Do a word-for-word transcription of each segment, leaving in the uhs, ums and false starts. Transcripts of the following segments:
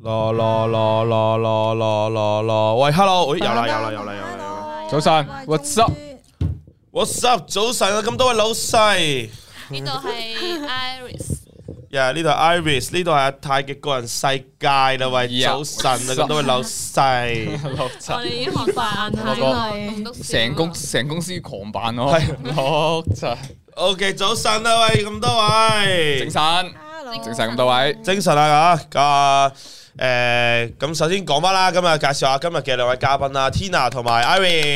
咯咯咯咯咯咯咯咯，喂 ，hello， 喂，有啦有啦有啦有啦， 早晨 ，what's up？What's up？ 早晨啊，咁多位老細， 呢度係 Iris， 呀，呢度係 Iris， 呢度係阿泰嘅個人世界啦，喂，早晨啊，咁多位老細， 我哋已經學飯啦， 成公成公司狂扮咯，六七 ，OK， 早晨啊，喂，咁多位， 精神，精神咁多位， 精神啊嚇，啊誒，咁首先講翻啦，今日介紹下今日嘅兩位嘉賓啦 ，Tina 同埋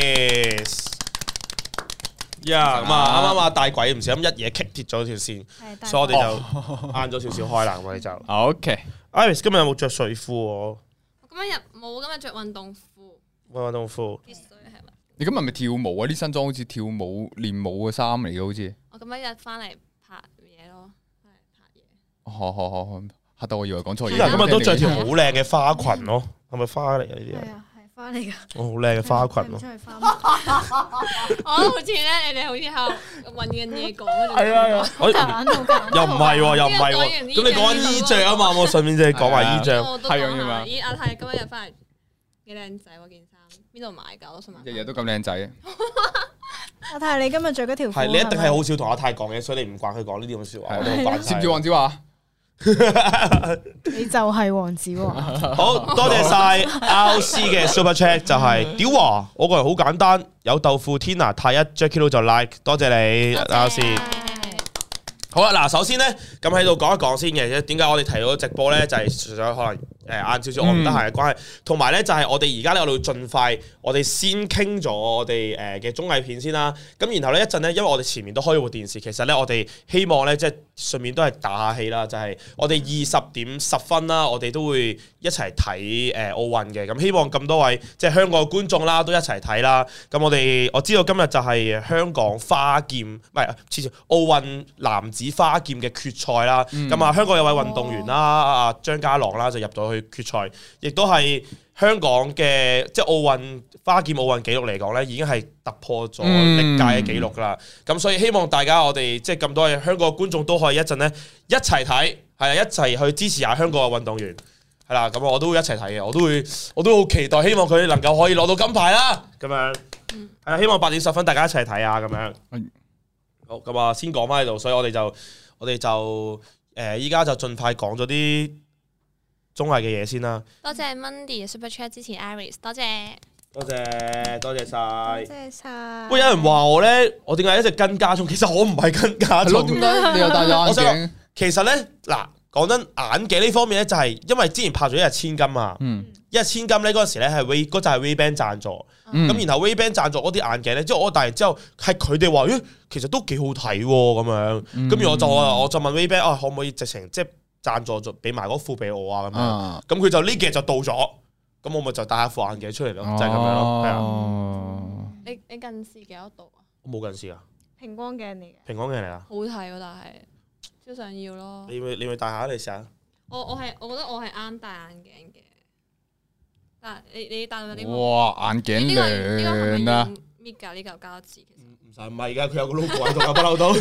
Iris。呀，咁啊，啱啱啊大鬼唔小心一嘢棘跌咗條線，所以我哋就晏咗少少開啦，我哋就。 OK。 Iris 今日有冇着睡褲？ 我今日冇，今日着運動褲。 運動褲。 必須係咪？ 你今日咪跳舞啊？啲新裝好似跳舞練舞嘅衫嚟嘅，好似。 我今日翻嚟拍嘢咯，翻嚟拍嘢。 好好好，嚇到我以為講錯嘢。 Tina 今日都着條好靚嘅花裙咯，係咪花嚟嘅呢啲啊？ 係啊，係花嚟噶。 哦，好靚嘅花裙咯。 我都好似咧，你哋好似喺度揾緊嘢講嗰種。 係啊，我又唔係喎，又唔係喎。咁你講緊衣着啊嘛，我順便就係講埋衣着。 係咁嘛。咦，阿泰今日翻嚟幾靚仔喎件衫，邊度買㗎？我想問。 日日都咁靚仔。 阿泰，你今日着嗰條褲係你一定係好少同阿泰講嘅，所以你唔慣佢講呢啲咁嘅説話，我都好慣。 接住黃子華。 你就係黃子華。 好多謝晒 R C 嘅 Super Chat， 就係屌華，我個人好簡單，有豆腐 Tina 太一 Jackie Lou 就 like， 多謝你 R C。好啦，嗱，首先咧咁喺度講一講先嘅，點解我哋提到直播咧，就係除咗可能誒晏少少我唔得閒嘅關係，同埋咧就係我哋而家咧我哋會盡快，我哋先傾咗我哋誒嘅綜藝片先啦。咁然後咧一陣咧，因為我哋前面都開咗部電視，其實咧我哋希望咧即係順便都係打下氣啦，就係、是、我哋二十點十分啦，我哋都會一齊睇誒奧運嘅。咁希望咁多位即係香港嘅觀眾啦，都一齊睇啦。咁我哋我知道今日就係香港花劍唔係，似似奧運男子花劍嘅決賽啦，咁啊、嗯、香港有位運動員啦，阿張家朗啦就入咗去決賽，亦都係香港嘅即係奧運花劍奧運紀錄嚟講咧，已經係突破咗歷屆嘅紀錄噶啦。咁、嗯、所以希望大家我哋即係咁多嘅香港嘅觀眾都可以一陣咧一齊睇，係啊一齊去支持下香港嘅運動員，係啦。咁我都會一齊睇嘅，我都會我都好期待，希望佢能夠可以攞到金牌啦。咁樣係啊，希望八點十分大家一齊睇啊，咁樣。好，咁啊，先講翻喺度，所以我哋就。我哋就誒依家就盡快講咗啲綜藝嘅嘢先啦。 多謝 Mandy Super Chat 支持 Iris， 多謝多謝多謝晒， 多謝晒。 喂，有人話我咧，我點解一直跟加蔥？其實我唔係跟加蔥。 點解你又戴咗眼鏡？ 其實咧，嗱，講真眼鏡呢方面咧，就係因為之前拍咗一日千金啊。嗯。一日千金咧嗰陣時咧係 Ray 嗰就係 Ray-Ban 贊助，咁、嗯、然後 Ray-Ban 贊助嗰啲眼鏡咧，即係我戴完之後係佢哋話，咦，其實都幾好睇喎咁樣，咁、嗯、然後我就我就問 Ray-Ban 啊，可唔可以直情即係贊助咗俾埋嗰副俾我啊咁樣，咁佢、啊、就呢幾日就到咗，咁我咪就戴下副眼鏡出嚟咯，就係、是、咁樣咯，係啊。 你你近視幾多度啊？ 我冇近視啊。 平光鏡嚟嘅。 平光鏡嚟啊。 好睇喎，但係超想要咯。 你會你會戴下你試下。 我我係我覺得我係啱戴眼鏡嘅。嗱，你你戴到啲哇眼鏡靚啊！ 搣㗎呢嚿膠紙，其實唔使唔係㗎，佢有個 logo 喺度，不嬲都。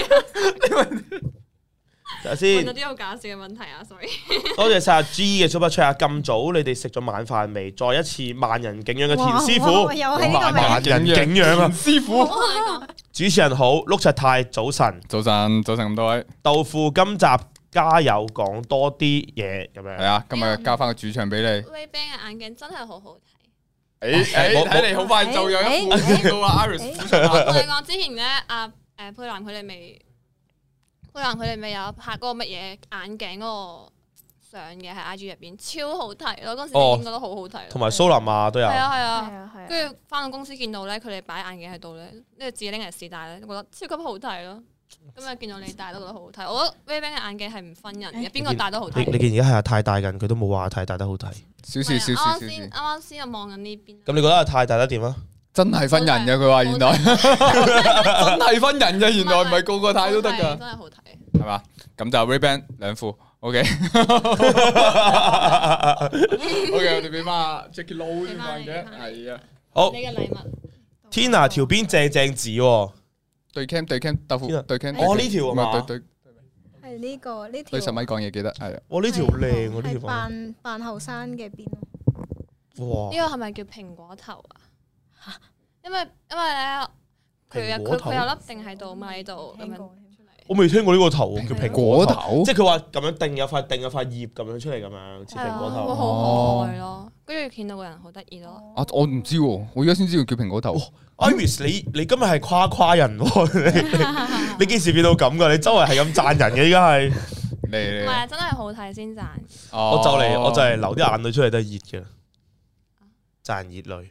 睇下先。問咗啲好搞笑嘅問題啊 ，sorry。多謝晒阿 G 嘅 Super Chat 啊！咁早你哋食咗晚飯未？再一次萬人景仰嘅田師傅，萬人景仰啊！師傅，主持人好，碌柒太早晨， 早晨早晨咁多位。 豆腐今集。加油，講多啲嘢咁樣。係啊，今日交翻個主場俾你。 Ray-Ban 嘅眼鏡真係好好睇。 誒誒，睇嚟好快就有一副到啊 Iris。 我同你講，之前咧，阿誒佩蘭佢哋未，佩蘭佢哋未有拍嗰個乜嘢眼鏡嗰個相嘅喺 I G 入邊，超好睇咯！嗰時已經覺得好好睇。同埋蘇林啊都有。係啊係啊，跟住翻到公司見到咧，佢哋擺眼鏡喺度咧，呢個自己拎嚟試戴咧，覺得超級好睇咯。今日見到你戴都覺得好好睇，我覺得 Ray-Ban 嘅眼鏡係唔分人嘅，邊個戴都好睇。 你見而家係阿泰戴緊，佢都冇話阿泰戴得好睇。 少少少少少。 啱啱先又望緊呢邊。 咁你覺得阿泰戴得點啊？ 真係分人嘅，佢話原來真係分人嘅，原來唔係個個泰都得㗎。 真係好睇。 係嘛？咁就 Ray-Ban 兩副 ，OK。OK， 我哋俾翻 Jackie Lou 先眼鏡，係啊。好。你嘅禮物。 Tina 條邊正正字喎。 對 cam 對 cam 豆腐對 cam 哦呢條啊嘛， 對對誒呢個呢條對十米講嘢記得係啊。 哇！呢條靚喎，呢條扮扮後生嘅邊咯。 哇！ 呢個係咪叫蘋果頭啊？因為因為咧，佢蘋果頭佢佢有粒定喺度嘛喺度咁樣出嚟。 我未聽過呢個頭叫蘋果頭， 果頭， 即係佢話咁樣定有塊定有塊葉咁樣出嚟咁樣似蘋果會頭。 好可愛咯，跟住見到個人好得意咯。 啊我唔知喎，我而家先知道叫蘋果頭。 Iris，你你今日係誇誇人喎，你你你幾時變到咁噶？你周圍係咁讚人嘅，依家係。 嚟嚟唔係啊，真係好睇先讚。 我就嚟我就嚟流啲眼淚出嚟都係熱嘅，賺熱淚。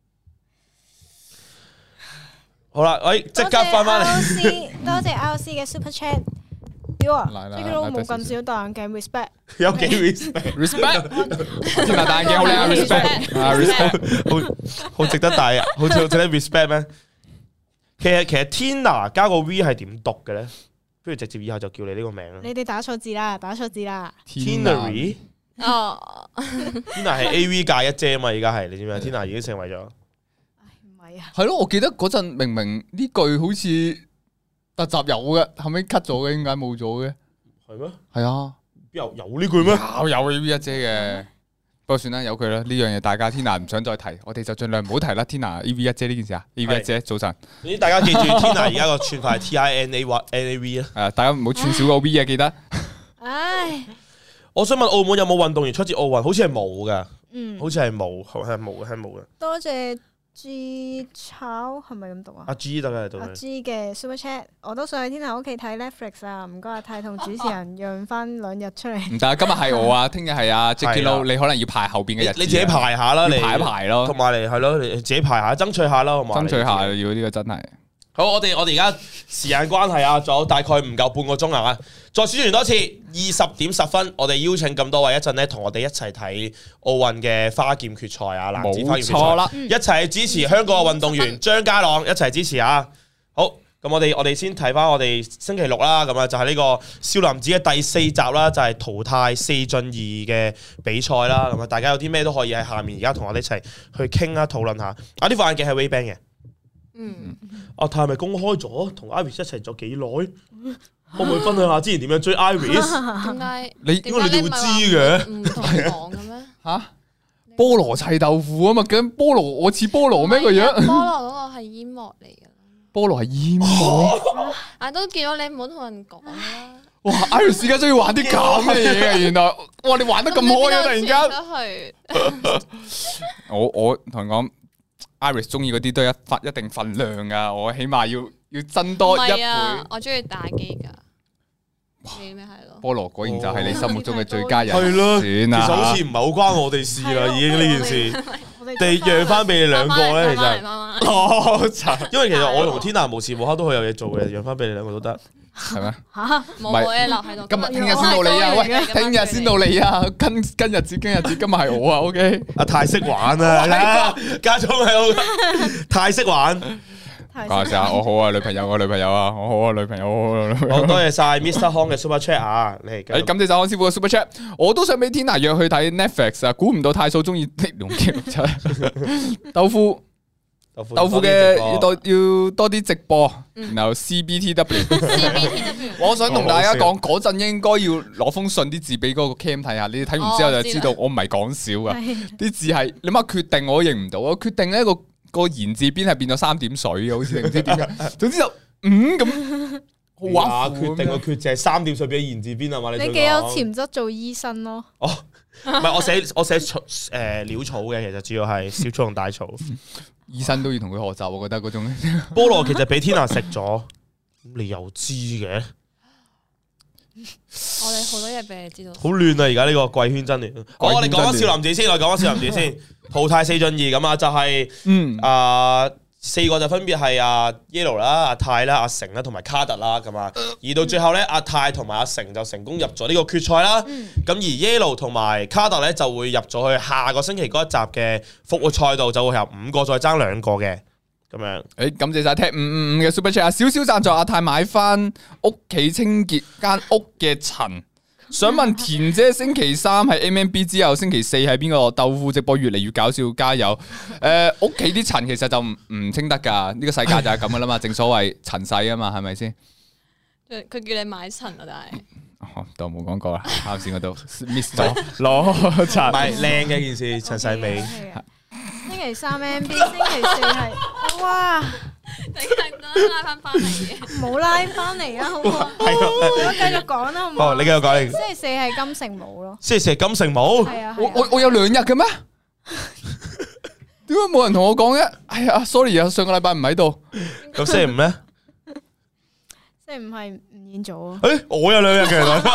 好啦，喂，即刻翻翻嚟。 多謝 R C 嘅 Super Chat。屌啊！ 嚟嚟呢個冇咁少戴眼鏡 respect。 有幾 respect？ respect， 天啊戴眼鏡好靚啊 respect 啊 respect， 好好值得戴啊，好似好值得 respect 咩？其實其實 Tina 加個 V 係點讀嘅咧？不如直接以後就叫你呢個名啦。 你哋打錯字啦，打錯字啦。 Tinary 哦 Tina 係 A V 界一姐啊嘛，而家係你知唔知 Tina 已經成為咗。 唔係啊， 係咯，我記得嗰陣明明呢句好似特集有嘅，後尾 cut 咗嘅，點解冇咗嘅？ 係咩？ 係啊， 有有呢句咩？ 有有 A V 一姐嘅，不過算啦，由佢啦。呢樣嘢大家 Tina 唔想再提，我哋就盡量唔好提啦。Tina A V 一姐呢件事啊 ，A V 一姐早晨。 總之大家記住 Tina 而家個串法係 T I N A N A V 啊。 係啊，大家唔好串少個 V 啊，記得。 唉， 我想問澳門有冇運動員出自奧運？好似係冇噶， 嗯， 好似係冇，係冇嘅，係冇嘅。 多謝 G 炒係咪咁讀啊？ 阿 G 得嘅， 阿 G 嘅 Super Chat，我都想去天后屋企睇 Netflix 啊！唔該阿泰同主持人讓翻兩日出嚟。 唔得，今日係我啊，聽日係阿 Jackie Lou，你可能要排後邊嘅日子。 你自己排下啦，你排一排咯， 同埋你係咯，你自己排下，爭取下啦，好嘛？ 爭取下要呢個真係。 好，我哋我哋而家時間關係啊，仲有大概唔夠半個鐘啊，再宣傳多次，二十點十分，我哋邀請咁多位一陣咧，同我哋一齊睇奧運嘅花劍決賽啊，男子花劍決賽， 冇錯啦， 一齊支持香港嘅運動員張家朗，一齊支持啊！好，咁我哋我哋先睇翻我哋星期六啦，咁啊就係呢個少林寺嘅第四集啦，就係淘汰四進二嘅比賽啦，咁啊大家有啲咩都可以喺下面而家同我哋一齊去傾啊討論下。啊，呢副眼鏡係 Ray-Ban 嘅。 嗯， 阿泰係咪公開咗同 Iris 一齊咗幾耐？可唔可以分享下之前點樣追 Iris？ 點解你點解你哋會知嘅？ 唔同人講嘅咩？ 吓菠蘿砌豆腐啊嘛，咁菠蘿我似菠蘿咩個樣？ 菠蘿嗰個係煙幕嚟嘅， 菠蘿係煙幕。 啊都見到你唔好同人講啦。 哇 ！Iris 而家中意玩啲咁嘅嘢嘅，原來哇你玩得咁開啊！突然間， 去我我同人講。Iris 中意嗰啲都一份一定份量噶，我起碼要要增多一倍。 我中意打機噶，你咩係咯？ 菠蘿果然就係你心目中嘅最佳人。 係咯， 算啦。 其實好似唔係好關我哋事啦，已經呢件事。地讓翻俾你兩個咧，其實。哦，因為其實我同 Tina 無時無刻都好有嘢做嘅，讓翻俾你兩個都得。 係咩？ 吓， 冇嘢留喺度。 今日聽日先到你啊！喂，聽日先到你啊！跟跟日子，跟日子，今日係我啊！OK。 阿太識玩啊！家聰係好，太識玩。 講下先啊！我好啊，女朋友啊，女朋友啊，我好啊，女朋友好。 好多謝晒 Mister Hong 嘅 Super Chat 啊！你誒，感謝晒康師傅嘅 Super Chat， 我都想俾 Tina 約去睇 Netflix 啊！估唔到太嫂中意龍劇豆腐。豆腐嘅要多要多啲直播，然後 C B T W。我想同大家講嗰陣應該要攞封信啲字俾嗰個 cam 睇下，你哋睇完之後就知道我唔係講笑噶，啲字係你乜決定我都認唔到，我決定呢個個言字邊係變咗三點水嘅，好似唔知點解，總之就嗯咁。 哇！決定個決就係三點水變咗言字邊啊嘛，你你幾有潛質做醫生咯？ 哦，唔係我寫我寫草誒潦草嘅，其實主要係小草同大草。 醫生都要同佢學習，我覺得嗰種菠蘿其實俾 Tina 食咗，你又知嘅？ 我哋好多嘢俾你知道。 好亂啊！而家呢個貴圈真亂。好，我哋講翻少林寺先，我哋講翻少林寺先。淘汰四進二咁啊，就係嗯啊四個就分別係阿 Yellow 啦、阿泰啦、阿成啦同埋卡特啦咁啊。而到最後咧，阿泰同埋阿成就成功入咗呢個決賽啦。咁而 Yellow 同埋卡特咧就會入咗去下個星期嗰一集嘅復活賽度，就會由五個再爭兩個嘅。咁樣， 誒，感謝晒踢五五五嘅 Super Chat 啊！少少贊助阿泰買翻屋企清潔間屋嘅塵。想問田姐星期三係 M M B 之後，星期四係邊個？豆腐直播越嚟越搞笑，加油！誒，屋企啲塵其實就唔唔清得噶，呢個世界就係咁噶啦嘛，正所謂塵世啊嘛，係咪先？ 佢叫你買塵啊，但係當冇講過啦，啱先嗰度 miss 咗攞唔擦。 係靚嘅件事，陳世美。 星期三 M B，星期四係哇， 你係得拉翻翻嚟嘅， 冇拉翻嚟啊，好唔好？ 係啊我繼續講啦，好唔好？ 哦，你繼續講。 星期四係金城武咯， 星期四係金城武。 係啊， 我我我有兩日嘅咩？點解冇人同我講嘅？哎呀，sorry 啊，上個禮拜唔喺度。 咁星期五咧？ 星期五係吳彥祖啊。 誒，我有兩日嘅，原來。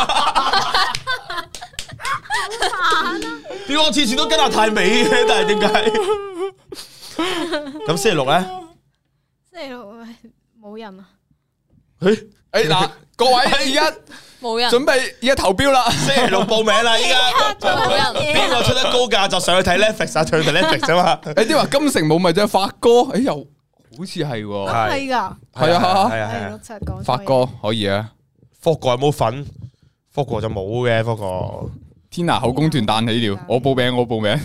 點解我次次都跟阿泰美嘅？但係點解？咁星期六咧？ 星期六冇人啊。 誒誒嗱，各位而家冇人準備而家投標啦。 星期六報名啦！依家冇人。 邊個出得高價就上去睇 Netflix 啊，上去睇 Netflix 啊嘛。 誒啲話金城武咪就係發哥，誒又好似係喎。 係係㗎。 係啊係啊係啊係六。七講。 發哥可以啊。 霍哥有冇份？霍哥就冇嘅，霍哥。 天拿口供團彈起了，我報名我報名。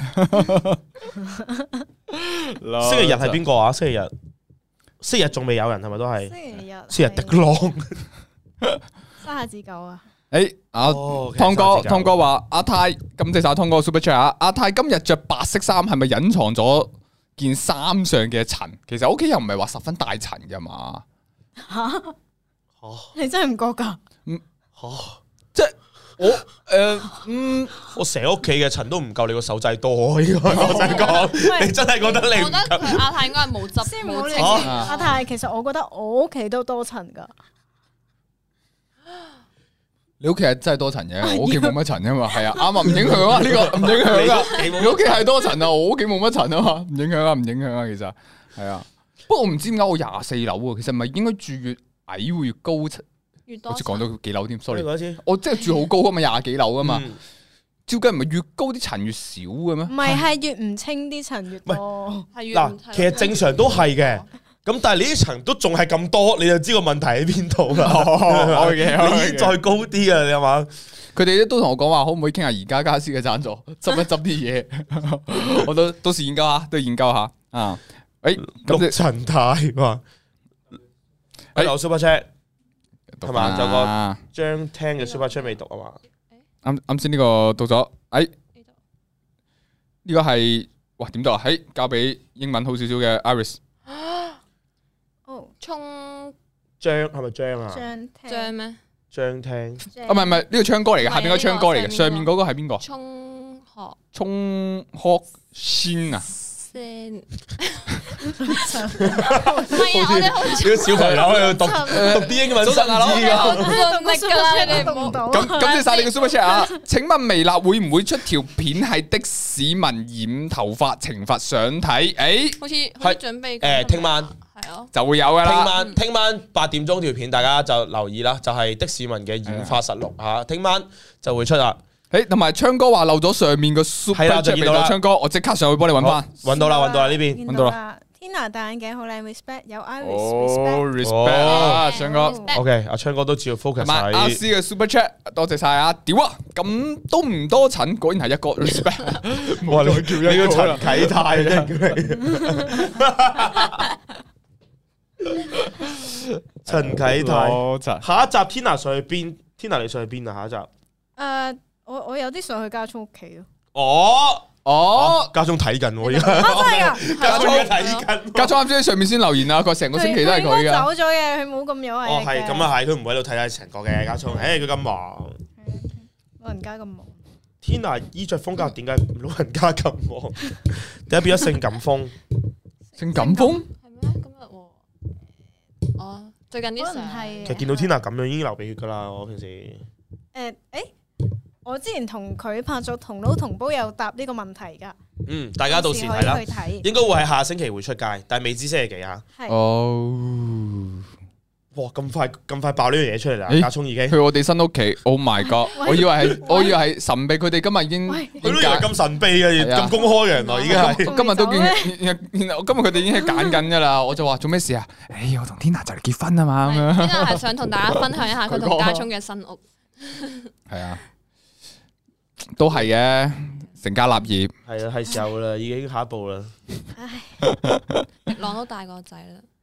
星期日係邊個啊？星期日，星期日仲未有人係咪都係？ 星期日。 星期日迪朗。 三下子九啊。 誒阿湯哥湯哥話阿泰感謝晒湯哥 Super Chat 啊！阿泰今日着白色衫係咪隱藏咗件衫上嘅塵？其實屋企又唔係話十分大塵噶嘛。 吓？你真係唔覺㗎？ 嗯吓，即係我誒嗯， 我成屋企嘅塵都唔夠你個手仔多，應該我想講，你真係覺得你唔我覺得佢阿泰應該係冇執先唔好理冇清。 阿泰，其實我覺得我屋企都多塵㗎。 你屋企係真係多塵嘅，我屋企冇乜塵啊嘛，係啊，啱啊，唔影響啊，呢個唔影響啊，你屋企係多塵啊，我屋企冇乜塵啊嘛，唔影響啊，唔影響啊，其實係啊，不過我唔知點解我廿四樓啊，其實唔係應該住越矮會越高層， 越多好似講到幾樓添，sorry， 講一次我即係住好高啊嘛，廿幾樓啊嘛， 嗯照計唔係越高啲塵越少嘅咩？ 唔係，係越唔清啲塵越多。 係越嗱，其實正常都係嘅。咁但係你啲層都仲係咁多，你就知個問題喺邊度啦。 哦嘅， 你已經再高啲啊，你係嘛？ 佢哋都同我講話，可唔可以傾下宜家家私嘅贊助，執一執啲嘢，我都到時研究下，都研究下啊。誒， 陸咁陳太話，誒有 Super Chat 係嘛？就個啊張聽嘅 Super Chat 未讀啊嘛？ 啱啱先呢個到咗，誒呢個係哇點讀啊？誒交俾英文好少少嘅 Iris。 哦， 衝張係咪張啊？ 張張咩？ 張聽啊唔係唔係呢個唱歌嚟嘅，下邊個唱歌嚟嘅，上面嗰個係邊個？ 衝學衝學先啊！ 先，唔係啊！我哋好啲小朋友喺度讀讀啲英文新字㗎。 盡力㗎啦，你哋唔好。 咁感謝晒你嘅 Super Chat 啊！請問微辣會唔會出條片係的市民染頭髮懲罰相睇？誒， 好似好似準備誒，聽晚係咯， 就會有噶聽啦。 晚聽晚八點鐘條片，大家就留意啦，就係的市民嘅染髮實錄嚇，聽晚就會出啦。 誒，同埋昌哥話漏咗上面個 Super 係啦就 Chat 俾見到啦到昌哥，我即刻上去幫你揾翻。 揾到啦，揾到啦呢邊。 見揾到啦啦。Tina 戴眼鏡好靚 ，respect 有 Iris 哦 respect。 ，respect 啊，昌哥。 OK，阿昌哥都照 focus 同埋阿喺 C 嘅 Super Chat，多謝晒啊！屌啊，咁都唔多塵，果然係一個 respect。 哇！你你個陳啟泰啫，陳啟泰。下一集 Tina 上去邊 ？Tina 你上去邊啊？下一集？ 誒，我我有啲上去家聰屋企咯。 哦哦， 家中睇緊喎，而家啊，真係㗎！ 家中睇緊。 家聰啱先喺上面先留言啊，佢成個星期都係佢佢應該噶。 走咗嘅，佢冇咁有毅力哦，係嘅咁啊，係佢唔會喺度睇睇成個嘅家聰。誒，佢咁忙。 老人家咁忙。 Tina 衣着風格點解老人家咁忙？點解變咗性感風？ 性感風係咩？今日喎，哦，最近啲相可能係其實見到 Tina 咁樣已經流鼻血㗎啦，我平時。 誒誒，我之前同佢拍咗同撈同煲有答呢個問題㗎。 嗯，大家到時睇啦可以去睇。 應該會係下星期會出街，但係未知星期幾啊？ 係。 哦， 哇！咁快咁快爆呢樣嘢出嚟啦！ 咦家聰已經， 去我哋新屋企，Oh my god！我以為係，我以為係神秘，佢哋今日已經喂佢都以為咁神秘嘅， 係啊咁公開嘅，原來已經係。 今日都見，然後今日佢哋已經係揀緊噶啦，我就話做咩事啊？誒，我同 Tina 就嚟結婚啊嘛，咁樣。 Tina 係想同大家分享一下佢同家聰嘅新屋。 係啊，都係嘅，成家立業。 係啊，係時候啦，已經下一步啦。 朗都大個仔啦。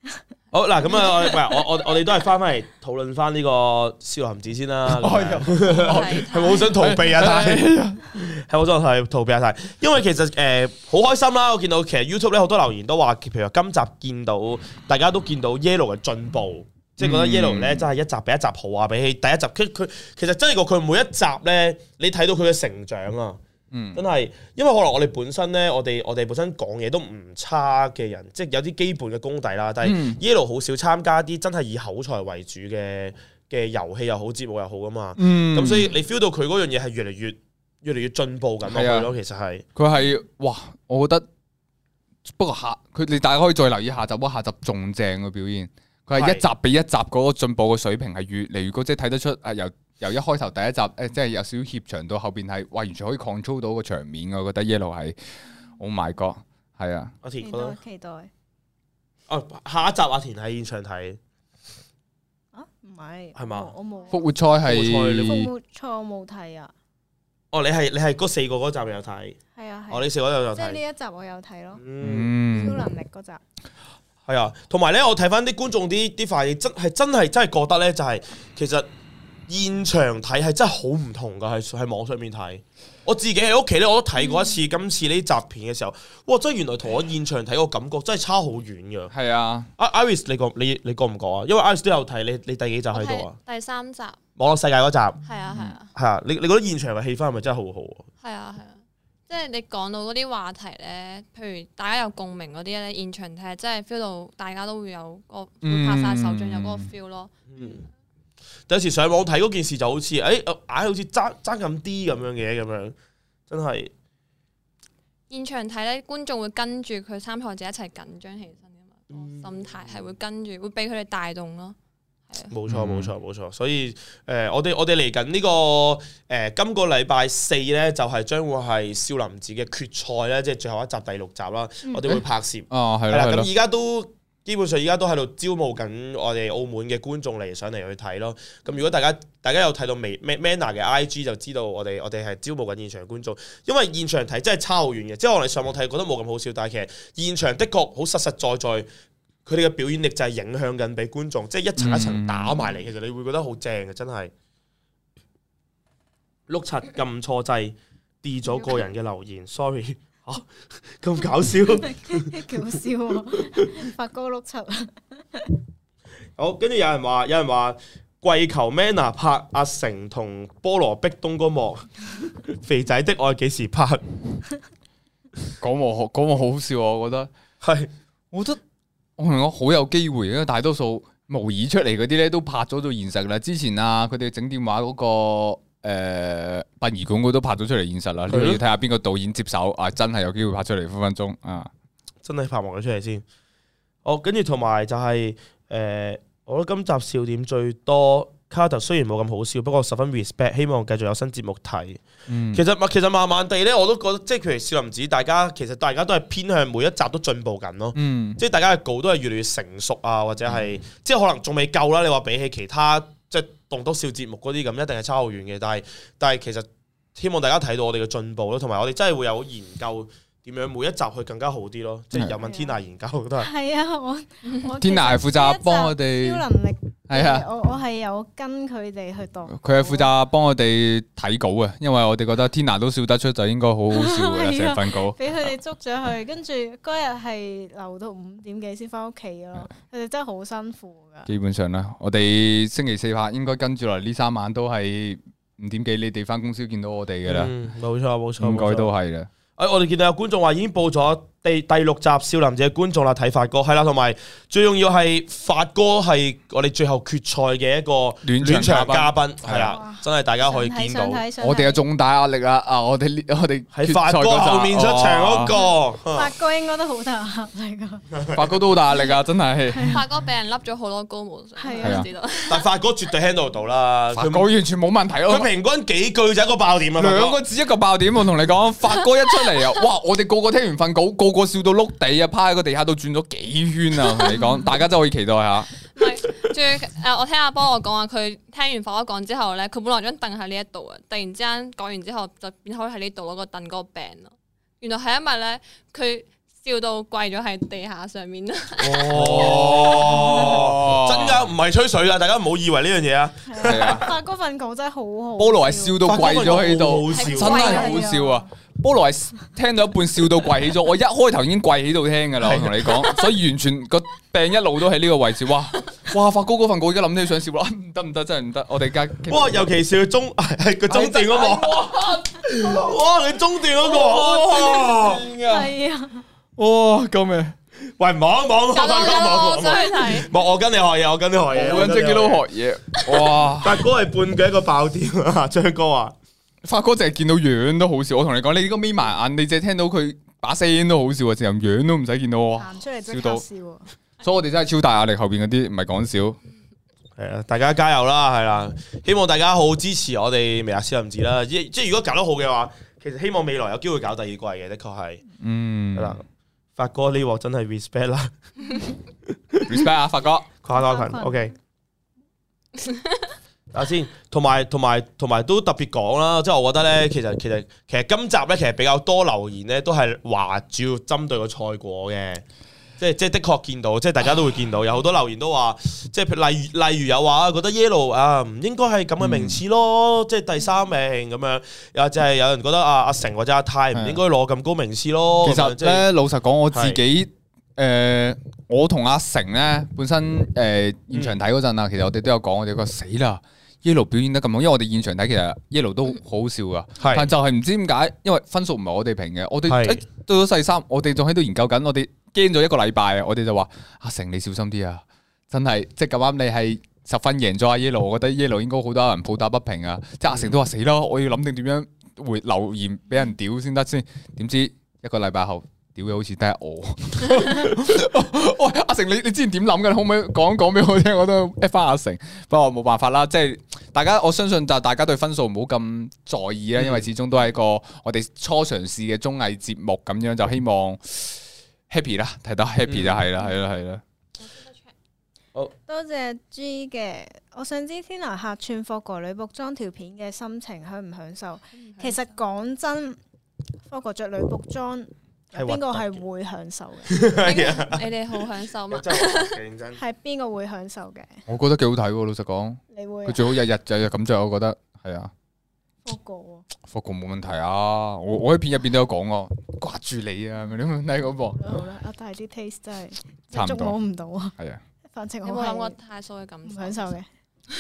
好嗱，咁啊，喂，我我我哋都係翻翻嚟討論翻呢個少林寺先啦。係咪好想逃避啊？但係係好想係逃避啊！但係因為其實誒好開心啦，我見到其實 YouTube 咧好多留言都話，譬如話今集見到大家都見到 Yellow 嘅進步，即係覺得 Yellow 咧真係一集比一集好啊！比起第一集，佢佢其實真係個佢每一集咧，你睇到佢嘅成長啊！嗯，真係，因為可能我哋本身咧，我哋我哋本身講嘢都唔差嘅人，即係有啲基本嘅功底啦。但係 Yellow 好少參加啲真係以口才為主嘅嘅遊戲又好，節目又好噶嘛。咁、嗯、所以你 feel 到佢嗰樣嘢係越嚟越越嚟越進步緊落去咯。其實係佢係哇，我覺得不過下佢你大家可以再留意下集，下集仲正嘅表現。佢係一集比一集嗰個進步嘅水平係越嚟越高，即係睇得出啊由。由一開頭第一集誒，即係有少少怯場到後邊係，哇！完全可以 control 到個場面，我覺得 Yellow 係 ，Oh my God，係啊！ 阿田期待期待。 哦，下一集阿田喺現場睇。 啊，唔係。係嘛？ 我冇。 復活賽係。 復活賽我冇睇啊。 哦，你係你係嗰四個嗰集有睇？ 係啊。 哦，你四個有有睇。 即係呢一集我有睇咯。 嗯。 超能力嗰集。 係啊，同埋咧，我睇翻啲觀眾啲啲反應，真係真係真係覺得咧，就係其實。現場睇係真係好唔同噶，係喺網上面睇。我自己喺屋企咧，我都睇過一次。嗯、今次呢集片嘅時候，哇！真係原來同我現場睇個感覺真係差好遠噶。係啊，阿 Iris 你覺你你覺唔覺啊？因為 Iris 都有睇，你你第幾集喺度啊？ 第三集。網絡世界嗰集。 係啊係啊。係啊， 你你覺得現場嘅氣氛係咪真係好好啊？ 係啊係啊，即係你講到嗰啲話題咧，譬如大家有共鳴嗰啲咧，現場睇真係 feel 到大家都會有個會拍晒手掌，有嗰個 feel 咯。嗯。 有時上網睇嗰件事就好似，誒、哎，硬係好似爭爭咁啲咁樣嘅，咁樣真係。 現場睇咧，觀眾會跟住佢參賽者一齊緊張起身噶嘛，嗯、心態係會跟住，會俾佢哋帶動咯。 冇錯，冇錯，冇錯。所以誒、呃，我哋我哋嚟緊呢個誒、呃，今個禮拜四咧，就係、是、將會係少林寺嘅決賽咧，即係最後一集第六集啦。嗯、我哋會拍攝。哦，係啦。咁而家都。基本上而家都喺度招募緊我哋澳門嘅觀眾嚟上嚟去睇咯。咁如果大家大家有睇到微 Manner 嘅 I G 就知道我哋我哋係招募緊現場觀眾。因為現場睇真係差好遠嘅，即係我哋上網睇覺得冇咁好笑，但係其實現場的確好實實在在，佢哋嘅表演力就係影響緊俾觀眾，即係一層一層打埋嚟。其實你會覺得好正嘅，真係。碌柒撳錯掣，跌咗個人嘅留言，sorry。吓咁、啊、搞笑， 幾好笑啊！發哥碌柒啊！ 好，跟住有人話，有人話跪求 Manner 拍阿成同菠蘿壁咚嗰幕，肥仔的愛幾時拍？ 嗰幕好，嗰幕好笑啊！我覺得係是，我覺得我同你講好有機會，因為大多數模擬出嚟嗰啲咧都拍咗到現實啦。之前啊，佢哋整電話嗰、嗰個。誒，殯儀館都拍咗出嚟現實啦，你要睇下邊個導演接手啊！真係有機會拍出嚟分分鐘啊！ 真係拍埋咗出嚟先。哦，跟住同埋就係、是、誒、呃，我覺得今集笑點最多。卡特雖然冇咁好笑，不過十分 respect， 希望繼續有新節目睇。嗯、其實其實慢慢地咧，我都覺得即係譬如少林寺，大家其實大家都係偏向每一集都進步緊咯。嗯、即係大家嘅稿都係越嚟越成熟啊，或者係、嗯、即係可能仲未夠啦。你話比起其他即係棟篤笑節目嗰啲咁，一定係差好遠嘅。但係但係其實希望大家睇到我哋嘅進步咯，同埋我哋真係會有研究點樣每一集去更加好啲咯。即係有問天娜研究都係。係啊，我我天娜係負責幫我哋超能力。係啊，我我係有跟佢哋去讀。 佢係負責幫我哋睇稿嘅，因為我哋覺得天娜都笑得出，就應該好好笑嘅成份稿。 俾佢哋捉咗去，跟住嗰日係留到五點幾先翻屋企咯。佢哋真係好辛苦噶。 基本上啦，我哋星期四拍，應該跟住落嚟呢三晚都係五點幾，你哋翻公司見到我哋嘅啦。 冇錯冇錯， 應該都係啦。 誒，我哋見到有觀眾話已經報咗第第六集少林寺嘅觀眾啦，睇發哥係啦，同埋最重要係發哥係我哋最後決賽嘅一個暖場嘉賓，係啦，真係大家可以見到。 我哋有重大壓力啦！啊，我哋我哋喺發哥後面出場嗰個， 發哥應該都好大壓力噶。 發哥都好大壓力啊！真係。 發哥俾人笠咗好多高帽上，係啊，知道。 但發哥絕對 handle 到啦， 發哥完全冇問題咯。 佢平均幾句就一個爆點啊！ 兩個字一個爆點，我同你講，發哥一出嚟啊，哇！我哋個個聽完份稿，個個笑到碌地啊，趴喺個地下度轉咗幾圈啊！同你講，大家真係可以期待下。 係，仲誒，我聽阿波我講話，佢聽完發哥講之後咧，佢本來張凳喺呢一度啊，突然之間講完之後就變開喺呢度咯，個凳嗰個病咯。原來係因為咧，佢笑到跪咗喺地下上面啦。 哦，真㗎，唔係吹水㗎，大家唔好以為呢樣嘢啊。 係啊，發嗰份稿真係好好。 菠蘿係笑到跪咗喺度， 好笑真係好笑啊！菠蘿係聽到一半笑到跪起咗，我一開頭已經跪喺度聽㗎啦，我同你講，所以完全個病一路都喺呢個位置。哇哇，發哥嗰份稿而家諗起想笑啦，唔得唔得，真係唔得，我哋而家。 哇，尤其是佢中係佢中段嗰個，哇，佢中段嗰個，哇， 係啊。 哇！救命！ 喂，望一望， 我想去睇。 望我跟你學嘢，我跟你學嘢， 我跟 Jacky Lou 學嘢。哇！ 發哥係半句一個爆點啊！張哥話： 發哥淨係見到樣都好笑。我同你講，你呢個眯埋眼，你淨係聽到佢把聲都好笑啊！成樣都唔使見到我。 行出嚟即刻笑。所以我哋真係超大壓力，後邊嗰啲唔係講笑。 係啊，大家加油啦，係啦，希望大家好好支持我哋微辣少林寺啦。即即如果搞得好嘅話，其實希望未來有機會搞第二季嘅，的確係。嗯，係啦。發哥呢鑊真係 respect 啦 ，respect 啊，發哥跨多群 ，OK。睇下先，同埋同埋同埋都特別講啦，即係我覺得咧，其實其實其實今集咧，其實比較多留言咧，都係話主要針對個賽果嘅。即係即係的確見到，即係大家都會見到，有好多留言都話，即係例如例如有話覺得 Yellow 啊唔應該係咁嘅名次咯，嗯、即係第三名咁樣，又就係有人覺得啊阿成或者阿泰唔應該攞咁高名次咯。 其實咧，就是、老實講，我自己誒、呃，我同阿成咧本身誒、呃、現場睇嗰陣啊，嗯、其實我哋都有講，我哋個死啦 Yellow 表現得咁好，因為我哋現場睇其實 Yellow 都好好笑噶，嗯、但就係唔知點解，因為分數唔係我哋評嘅，我哋誒是、欸、到咗世三，我哋仲喺度研究緊，我哋。驚咗一個禮拜啊！我哋就話阿成你小心啲啊！真係即係咁啱你係十分贏咗阿 Yellow，我覺得 Yellow 應該好多人抱打不平啊！即係阿成都話死啦，我要諗定點樣回留言俾人屌先得先。點知一個禮拜後屌嘅好似得我。喂，阿成你你之前點諗嘅？可唔可以講講俾我聽？我都 at 翻阿成。不過冇辦法啦，即係大家我相信就大家對分數唔好咁在意啦，因為始終都係一個我哋初嘗試嘅綜藝節目咁樣，就希望。happy 啦，睇到 happy 就係啦，係啦，係啦。 好多謝 G 嘅，我想知 Tina 客串霍哥女僕裝條片嘅心情享唔享受？其實講真，霍哥着女僕裝，邊個係會享受嘅？ 你哋好享受嘛？ 認真係邊個會享受嘅？ 我覺得幾好睇喎，老實講。 你會？ 佢最好日日日日咁着，我覺得係啊。 霍哥， 霍哥冇問題啊！我我喺片入邊都有講喎，掛住你啊！你冇睇嗰部？ 好啦，阿大啲 taste 真係差唔多， 捉摸唔到啊！ 係啊， 反正我冇諗過太數嘅感受， 享受嘅。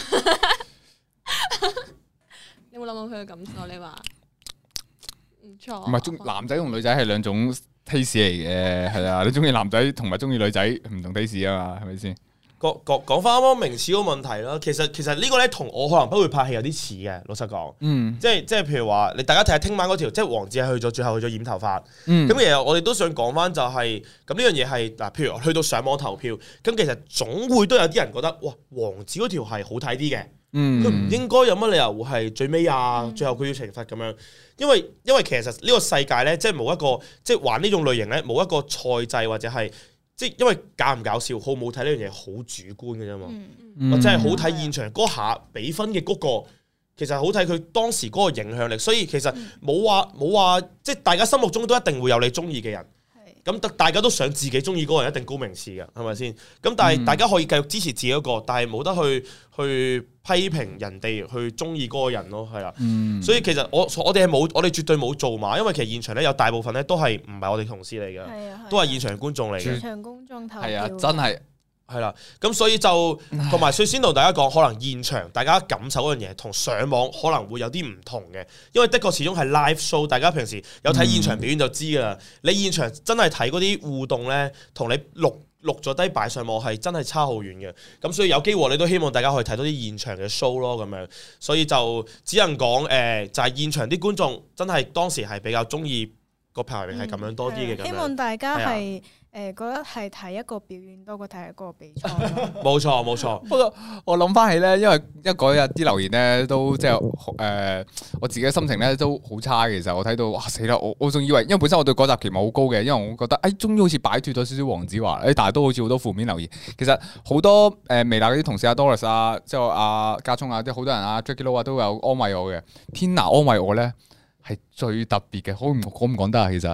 你有冇諗過佢嘅感受？你話唔錯。 唔係中男仔同女仔係兩種 taste 嚟嘅，係啊！你中意男仔同埋中意女仔唔同 taste 啊嘛，係咪先？ 講講講翻啱啱名次嗰個問題啦，其實其實呢個咧同我可能不會拍戲有啲似嘅，老實講，嗯，即係即係譬如話，你大家睇下聽晚嗰條，即係黃子係去咗最後去咗染頭髮，咁、嗯、其實我哋都想講翻就係、是，咁呢樣嘢係嗱，譬如去到上網投票，咁其實總會都有啲人覺得，哇，黃子嗰條係好睇啲嘅，佢唔、嗯、應該有乜理由會係最尾啊，嗯、最後佢要懲罰咁樣，因為因為其實呢個世界咧，即係冇一個即係玩呢種類型咧，冇一個賽制或者係。即係因為搞唔搞笑，好唔好睇呢樣嘢好主觀嘅啫嘛，嗯、或者係好睇現場嗰下比分嘅嗰、嗰個，其實好睇佢當時嗰個影響力。所以其實冇話冇話，即係大家心目中都一定會有你中意嘅人。咁大家都想自己中意嗰個人一定高名次嘅，係咪先？咁但係大家可以繼續支持自己一個，但係冇得去去批評人哋去中意嗰個人咯，係啦。嗯、所以其實我我哋係冇，我哋絕對冇做嘛，因為其實現場咧有大部分咧都係唔係我哋同事嚟嘅，都係現場觀眾嚟嘅。現場觀眾投票係啊，真係。係啦，咁所以就同埋，所以先同大家講，可能現場大家感受嗰樣嘢，同上網可能會有啲唔同嘅，因為的確始終係 live show，大家平時有睇現場表演就知噶啦。嗯、你現場真係睇嗰啲互動咧，同你錄錄咗低擺上網係真係差好遠嘅。咁所以有機會你都希望大家可以睇到啲現場嘅 show 咯，咁樣。所以就只能講誒、呃，就係、是、現場啲觀眾真係當時係比較中意個排名係咁樣多啲嘅。咁樣希望大家係。誒覺得係睇一個表演多過睇一個比賽。 冇錯冇錯。 不過我諗翻起咧，因為一嗰日啲留言咧都即係誒，我自己嘅心情咧都好差嘅。其實我睇到哇死啦！我我仲以為，因為本身我對嗰集期望好高嘅，因為我覺得誒終於好似擺脫咗少少黃子華，誒但係都好似好多負面留言。其實好多誒微辣嗰啲同事阿 Doris 啊，即係阿家聰啊，啲好多人啊 Jacky Lou 啊都有安慰我嘅。Tina 安慰我咧係最特別嘅，好唔好唔講得啊？其實。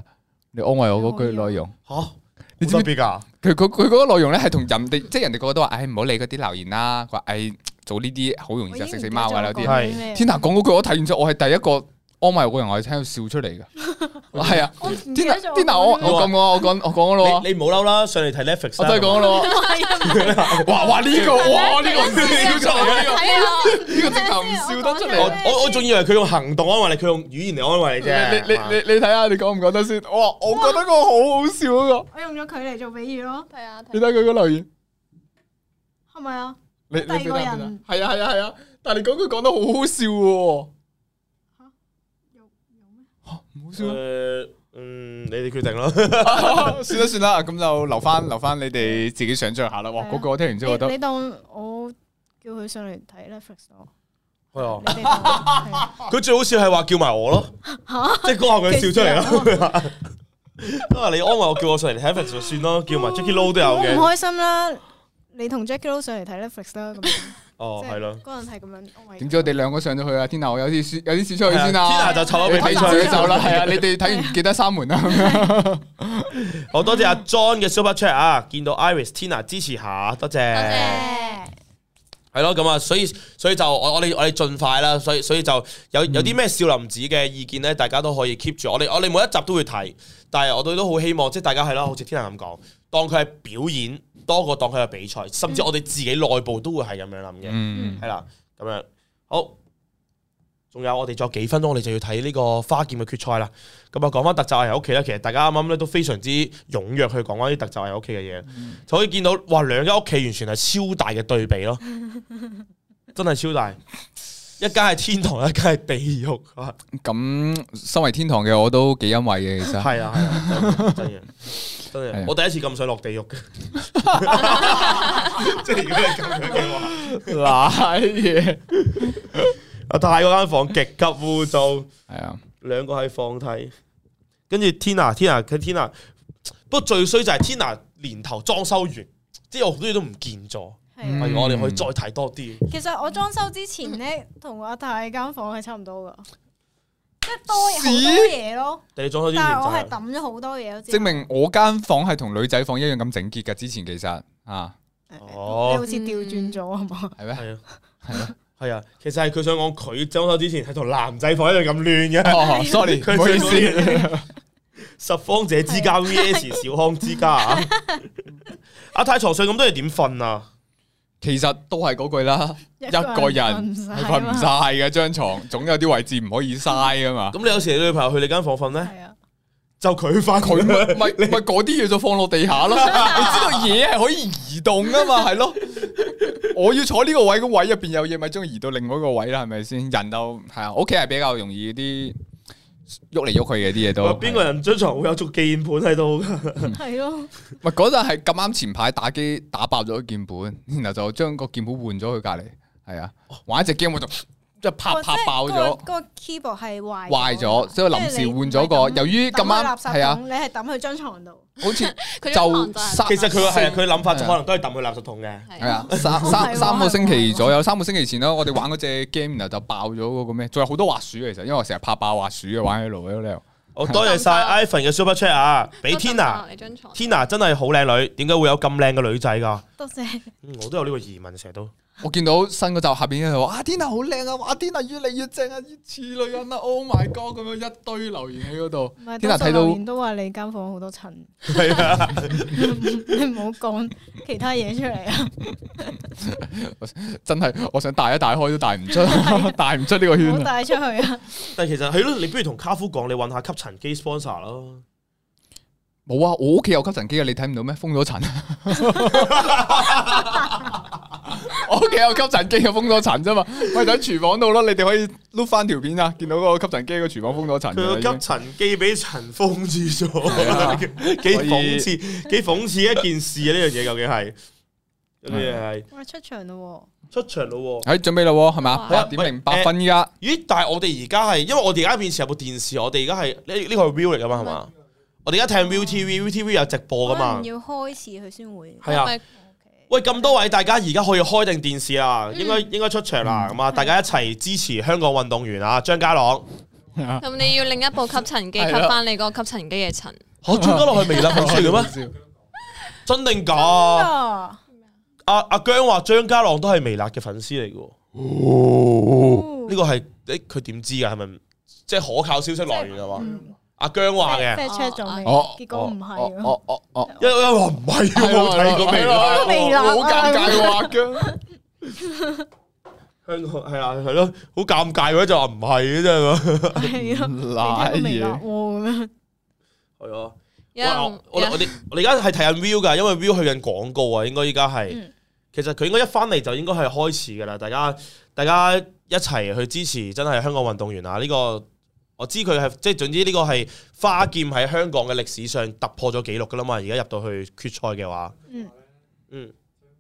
你安慰我嗰句內容吓，你知唔知㗎？ 佢佢佢嗰個內容咧係同人哋，即係人哋個個都話，唉唔好理嗰啲留言啦。佢話唉做呢啲好容易就食死貓㗎啦啲。係天娜講嗰句，我睇完之後，我係第一個安慰我個人，我係聽到笑出嚟嘅。係啊，天娜天娜，我我講我我講我講咯。 你唔好嬲啦，上嚟睇 Netflix。 我真係講咯。哇哇呢個哇呢個唔笑出嚟嘅呢個呢個直頭唔笑得出嚟。 我我仲以為佢用行動安慰你，佢用語言嚟安慰你啫。 你你你你睇下，你講唔講得先？哇，我覺得個好好笑嗰個。 我用咗佢嚟做比喻咯。係啊。 你睇佢個留言係咪啊？ 你你第二個人係啊係啊係啊，但係你講佢講得好好笑喎。唔好笑誒，嗯，你哋決定啦。 算啦算啦，咁就留翻留翻你哋自己想象下啦。哇，嗰個我聽完之後覺得， 你當我叫佢上嚟睇 Netflix 咯。 係啊。佢最好笑係話叫埋我咯，即係嗰下佢笑出嚟咯。啊，你安慰我叫我上嚟睇 Netflix 就算咯，叫埋 Jacky Lou 都有嘅。 唔開心啦，你同 Jacky Lou 上嚟睇 Netflix 啦咁。 哦，係咯， 嗰陣係咁樣。 點知我哋兩個上咗去啊？天娜，我有啲事有啲事出去先啦。 天娜就湊咗俾睇出去走啦。係啊，你哋睇完記得閂門啦。 好多謝阿 John 嘅 Super Chat 啊！見到 Iris 天娜支持下，多謝。多謝。 係咯，咁啊，所以所以就我我哋我哋盡快啦。所以所以就有有啲咩少林寺嘅意見咧，大家都可以 keep 住。我哋我哋每一集都會睇，但係我哋都好希望即係大家係咯，好似天娜咁講，當佢係表演。多過當佢係比賽，甚至我哋自己內部都會係咁樣諗嘅，係啦、嗯，咁樣好。仲有我哋仲有幾分鐘，我哋就要睇呢個花劍嘅決賽啦。咁啊，講翻特集係屋企啦。其實大家啱啱咧都非常之踴躍去講翻啲特集係屋企嘅嘢，嗯、就可以見到哇，兩間屋企完全係超大嘅對比咯，真係超大。一間係天堂，一間係地獄。 咁身為天堂嘅我都幾欣慰嘅，其實係啊係啊，真嘅。真係，我第一次咁想落地獄嘅，即係如果你咁樣嘅話，瀨嘢。阿泰嗰間房極級污糟，係啊，兩個喺房睇，跟住 Tina，Tina 佢 Tina， 不過最衰就係 Tina 年頭裝修完，即係好多嘢都唔見咗，係我哋可以再睇多啲。 其實我裝修之前咧，同阿泰間房係差唔多噶。即係多好多嘢咯，但係我係抌咗好多嘢， 證明我間房係同女仔房一樣咁整潔噶。之前其實啊， 哦，你好似調轉咗係嘛？ 係咩？係啊，係啊， 係啊。其實係佢想講佢裝修之前係同男仔房一樣咁亂嘅。 哦，sorry，唔好意思。 拾荒者之家 V S 小康之家啊！阿太床上咁多嘢點瞓啊？ 其實都係嗰句啦，一個人係瞓唔晒嘅張床，總有啲位置唔可以嘥噶嘛。 咁你有時你女朋友去你間房瞓咧，就佢瞓， 佢咪咪咪嗰啲嘢就放落地下咯。你知道嘢係可以移動噶嘛？係咯，我要坐呢個位，個位入邊有嘢，咪將佢移到另外一個位啦，係咪先？人就係啊，屋企係比較容易啲喐嚟喐去嘅啲嘢都。 邊個人張床會有足鍵盤喺度？ 係咯， 咪嗰陣係咁啱前排打機打爆咗個鍵盤，然後就將個鍵盤換咗去隔籬，係啊，玩一隻 game 我就即係啪啪爆咗。 嗰個 keyboard 係壞壞咗，所以臨時換咗個。由於咁啱係啊， 你係抌去張床度， 好似就其實佢係佢諗法可能都係抌去垃圾桶嘅。 係啊，三三三個星期左右，三個星期前啦，我哋玩嗰隻 game 然後就爆咗嗰個咩？仲有好多滑鼠其實，因為我成日怕爆滑鼠嘅玩喺度喺度。 好多謝晒 Ivan 嘅 Super Chat 啊！俾 Tina，Tina 真係好靚女，點解會有咁靚嘅女仔噶？ 多謝。 我都有呢個疑問，成日都。 我見到新嗰集下邊嘅話，啊 Tina 好靚啊，哇 Tina 越嚟越正啊，越似女人啊 ，Oh my God 咁樣一堆留言喺嗰度。Tina 睇到都話你間房好多塵。 係啊， 你唔好講其他嘢出嚟啊！ 真係，我想帶一帶開都帶唔出，帶唔出呢個圈。 唔好帶出去啊！ 但係其實係咯，你不如同卡夫講，你揾下吸塵機 sponsor 咯。 冇啊，我屋企有吸塵機啊，你睇唔到咩？封咗塵。我屋企有吸塵機，封咗塵啫嘛。我喺廚房度咯，你哋可以碌翻條片啊，見到嗰個吸塵機個廚房封咗塵。 佢個吸塵機俾塵封住咗，幾諷刺，幾諷刺一件事啊！呢樣嘢究竟係呢樣係。 哇！出場咯， 出場咯， 誒，準備咯，係嘛？八點零八分依家。咦？ 但係我哋而家係，因為我哋而家面前有部電視，我哋而家係呢呢個係 view 嚟噶嘛，係嘛？我哋而家睇 ViuTV，ViuTV 有直播噶嘛？ 要開始佢先會。 係啊。喂，咁多位大家而家可以開定電視啦，應該應該出場啦，咁啊，大家一齊支持香港運動員啊，張家朗。 咁你要另一部吸塵機吸翻你個吸塵機嘅塵。 嚇張家朗係微辣粉絲嚟嘅咩？真定假？阿阿姜話張家朗都係微辣嘅粉絲嚟嘅。哦，呢個係誒佢點知㗎？係咪即係可靠消息來源係嘛？阿姜話嘅 check 咗未？結果唔係。 哦哦哦， 因為話唔係，冇睇過微辣， 微辣好尷尬喎，阿姜。 香港係啊係咯，好尷尬嘅就話唔係嘅啫係啊， 嗱嘢咁樣係啊。我我我哋我哋而家係睇緊 view 㗎，因為 view 去緊廣告啊，應該依家係。其實佢應該一翻嚟就應該係開始㗎啦，大家大家一齊去支持，真係香港運動員啊！呢個我知佢係即係總之呢個係花劍喺香港嘅歷史上突破咗紀錄㗎啦嘛，而家入到去決賽嘅話，嗯嗯。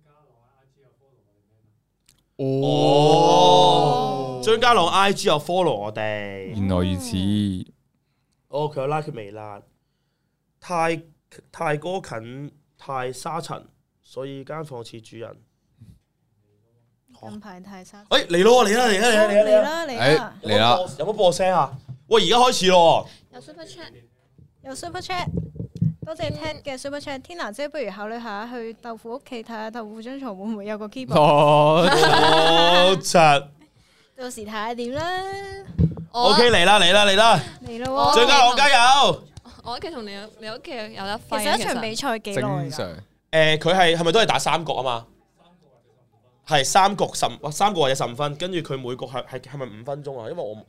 哦，張家朗 I G 有 follow 我哋， 原來如此。 哦，佢有 like 微辣，太太哥近太沙塵，所以間房似主人。 近排太沙塵。 誒嚟咯，嚟啦嚟啦嚟啦嚟啦嚟啦！ 嚟啦！ 有冇播聲啊？喂，而家開始咯。 有 super chat， 有 super chat。多謝 Ted 嘅 super chat，Tina 姐不如考慮下去豆腐屋企睇下豆腐張床會唔會有個 keyboard？ 好柒， 到時睇下點啦。 OK 嚟啦嚟啦嚟啦！ 嚟啦！ 張家朗加油！ 我屋企同你你屋企有得揮。 其實一場比賽幾耐㗎？ 正常。 誒，佢係係咪都係打三局啊嘛？係三局十三局或者十五分，跟住佢每局係係係咪五分鐘啊？因為我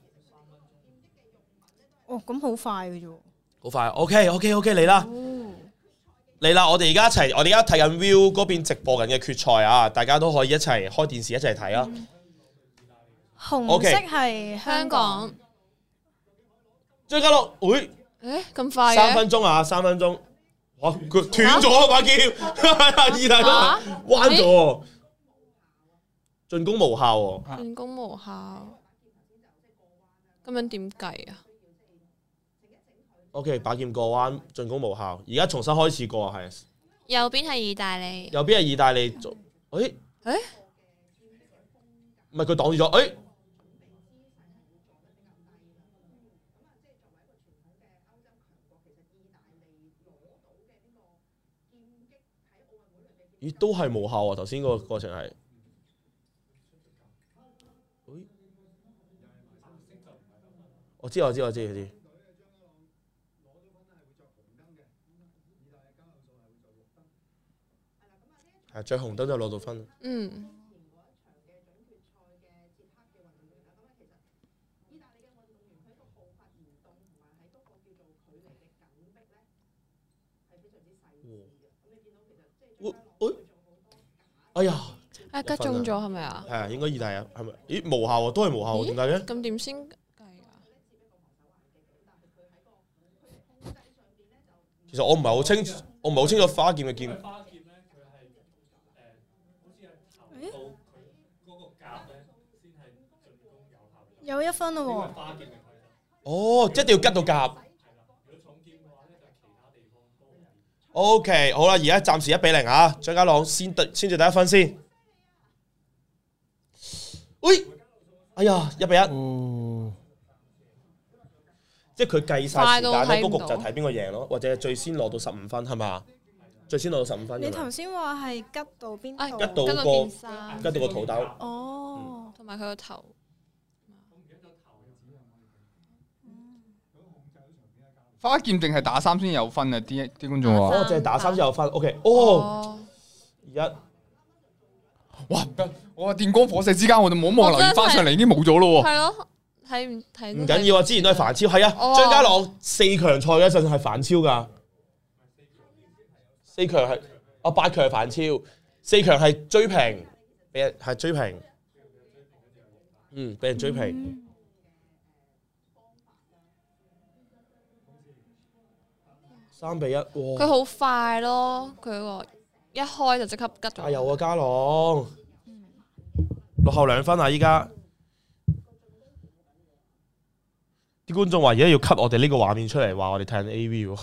哦咁好快嘅啫。 好快 ，OK OK OK 嚟啦，嚟啦！我哋而家一齊，我哋而家睇緊 View 嗰邊直播緊嘅決賽啊！大家都可以一齊開電視一齊睇啊！ 紅色係香港， 張家朗，會誒咁快嘅？ 三分鐘啊，三分鐘，哇！佢斷咗把劍，意大利彎咗，進攻無效喎！ 進攻無效，咁樣點計啊？ O.K. 把劍過彎，進攻無效。而家重新開始過啊，係。 右邊係意大利。 右邊係意大利做，誒誒，唔係佢擋住咗，誒。咦，都係無效啊！頭先個過程係。我知我知我知我知。係着紅燈就攞到分。嗯。我我哎呀！ 啊，吉中咗係咪啊？ 係啊，應該意大利係咪？咦，無效喎，都係無效喎，點解嘅？ 咁點先計啊？ 其實我唔係好清，我唔係好清楚花劍嘅劍。 有一分咯喎！ 哦，即係一定要吉到甲。O K， 好啦，而家暫時一比零啊，張家朗先得先至第一分先。喂，哎呀，一比一。哦、即係佢計晒時間咧，嗰局就睇邊個贏咯，或者最先攞到十五分係嘛？最先攞到十五分。 你頭先話係吉到邊度？ 吉到個吉到個肚兜。 哦， 同埋佢個頭。 花劍定係打三先有分啊！啲啲觀眾話， 哦，淨係打三先有分。O K， 哦，而家， 哇唔得！我話電光火石之間，我哋冇望留意翻上嚟，已經冇咗咯喎。 係咯，睇唔睇？ 唔緊要啊！之前都係反超，係啊，張家朗四強賽嗰陣係反超㗎。四強係啊，八強係反超，四強係追平，俾人係追平。嗯，俾人追平。三比一，哇！ 佢好快咯，佢個一開就即刻吉咗。 加油啊，家朗！落後兩分啊！依家啲觀眾話而家要 cut 我哋呢個畫面出嚟，話我哋睇緊 A V 喎。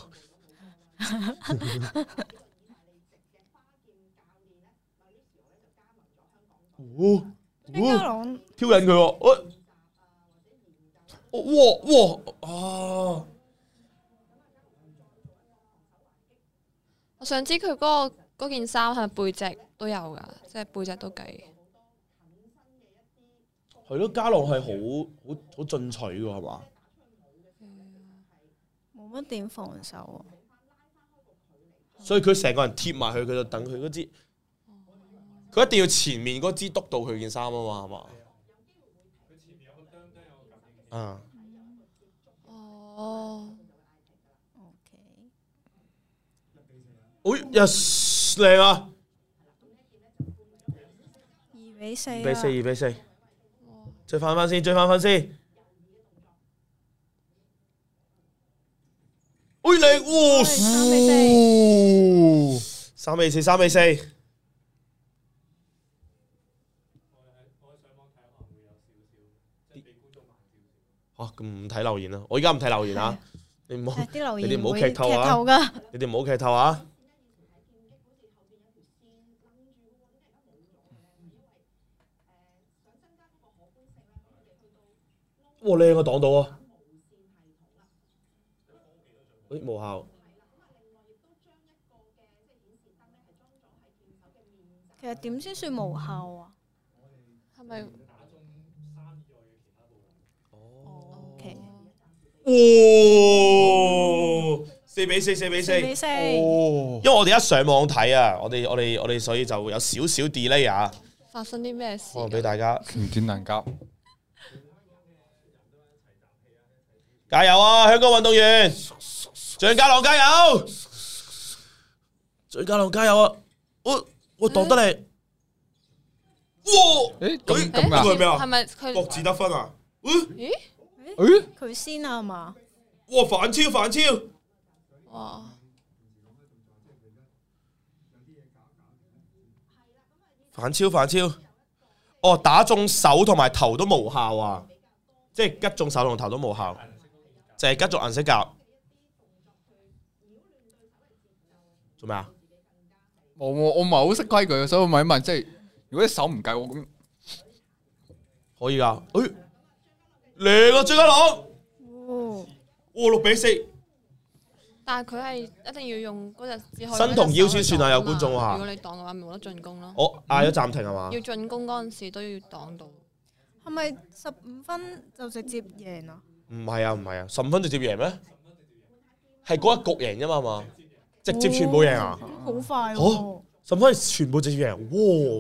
張家朗挑引佢喎，哇哇啊！ 我想知佢嗰個嗰件衫係咪背脊都有㗎，即係背脊都計。 係咯，家朗係好好好進取㗎係嘛？ 冇乜點防守啊！ 所以佢成個人貼埋去，佢就等佢嗰支，佢一定要前面嗰支督到佢件衫啊嘛，係嘛？啊！ 哦。 OK。哎呀，靚啊！ 二比四。 二比四，二比四。追翻翻先，追翻翻先。哎靚，哇！ 三比四，三比四，三比四。嚇，咁唔睇留言啦！我而家唔睇留言啊！你唔好，你哋唔好劇透啊！你哋唔好劇透啊！哇！靚啊，擋到啊！誒無效。 其實點先算無效啊？ 係咪？ 哦。OK。 哦，四比四，四比四。 四比四。 哦。因為我哋一上網睇啊，我哋我哋我哋所以就有少少 delay 啊。 發生啲咩事？ 我俾大家唔見能夾。 加油啊！香港運動員，張家朗加油！張家朗加油啊！我我擋得你。哇！ 誒咁咁呢個係咩啊？ 係咪佢各自得分啊？ 咦？ 誒佢先啊嘛？ 哇！反超反超！ 哇！ 反超反超！哦，打中手同埋頭都無效啊！即係擊中手同頭都無效。就係吉中銀色甲，做咩啊？ 我我我唔係好識規矩，所以我問一問，即係如果啲手唔計我咁， 可以噶。誒，嚟啊，張家朗！ 哦， 哇，六比四。 但係佢係一定要用嗰隻只可以身同腰先算啊！有觀眾話， 如果你擋嘅話，咪冇得進攻咯。 我嗌咗暫停係嘛？ 要進攻嗰陣時都要擋到。 係咪十五分就直接贏啊？ 唔係啊，唔係啊，十五分直接贏咩？係嗰一局贏啫嘛嘛，直接全部贏啊！ 好快喎！ 哦，十五分全部直接贏，哇！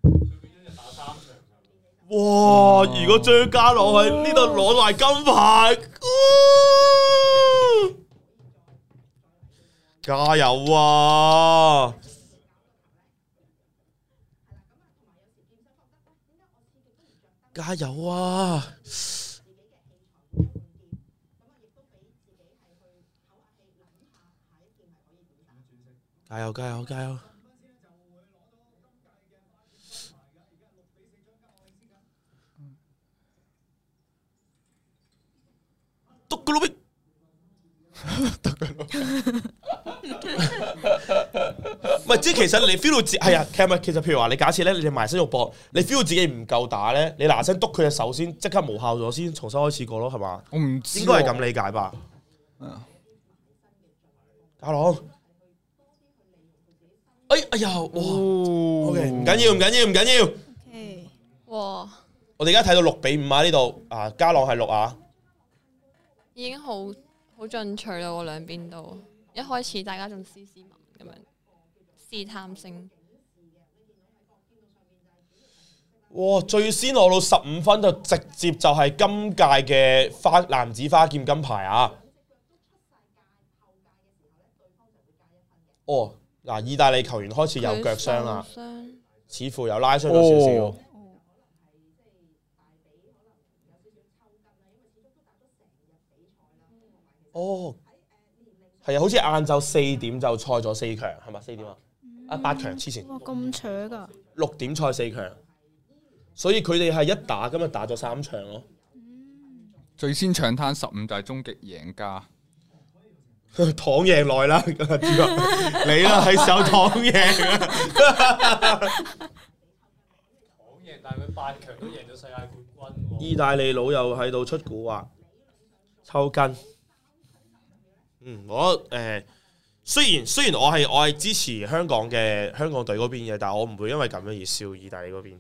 哇！如果張家朗喺呢度攞埋金牌，加油啊！加油啊！加油加油加油！篤個老逼！唔係，即係其實你 feel 到自係啊，其實其實譬如話你假設咧，你哋埋身肉搏，你 feel 到自己唔夠打咧，你嗱聲篤佢隻手先，即刻無效咗先，重新開始過咯，係嘛？ 我唔知， 應該係咁理解吧？家朗。哎哎呀，哇 ！OK， 唔緊要，唔緊要，唔緊要。 OK， 哇！ 我哋而家睇到六比五啊，呢度啊，家朗係六啊， 已經好好進取啦，喎兩邊都。一開始大家仲斯斯文咁樣試探性。 哇！最先攞到十五分就直接就係今屆嘅花男子花劍金牌啊！哦。嗱，意大利球員開始有腳傷啦，似乎有拉傷咗少少。哦，係啊，好似晏晝四點就賽咗四強，係咪四點啊？啊，八強之前。 哇，咁扯㗎！ 六點賽四強，所以佢哋係一打今日打咗三場咯。 最先搶灘十五就係終極贏家。 躺贏來啦，你啦係時候躺贏啊！ 躺贏，但係佢八強都贏咗世界冠軍。 意大利佬又喺度出蠱惑，抽筋。嗯，我誒、呃、 雖然雖然我係我係支持香港嘅香港隊嗰邊嘅，但係我唔會因為咁樣而笑意大利嗰邊。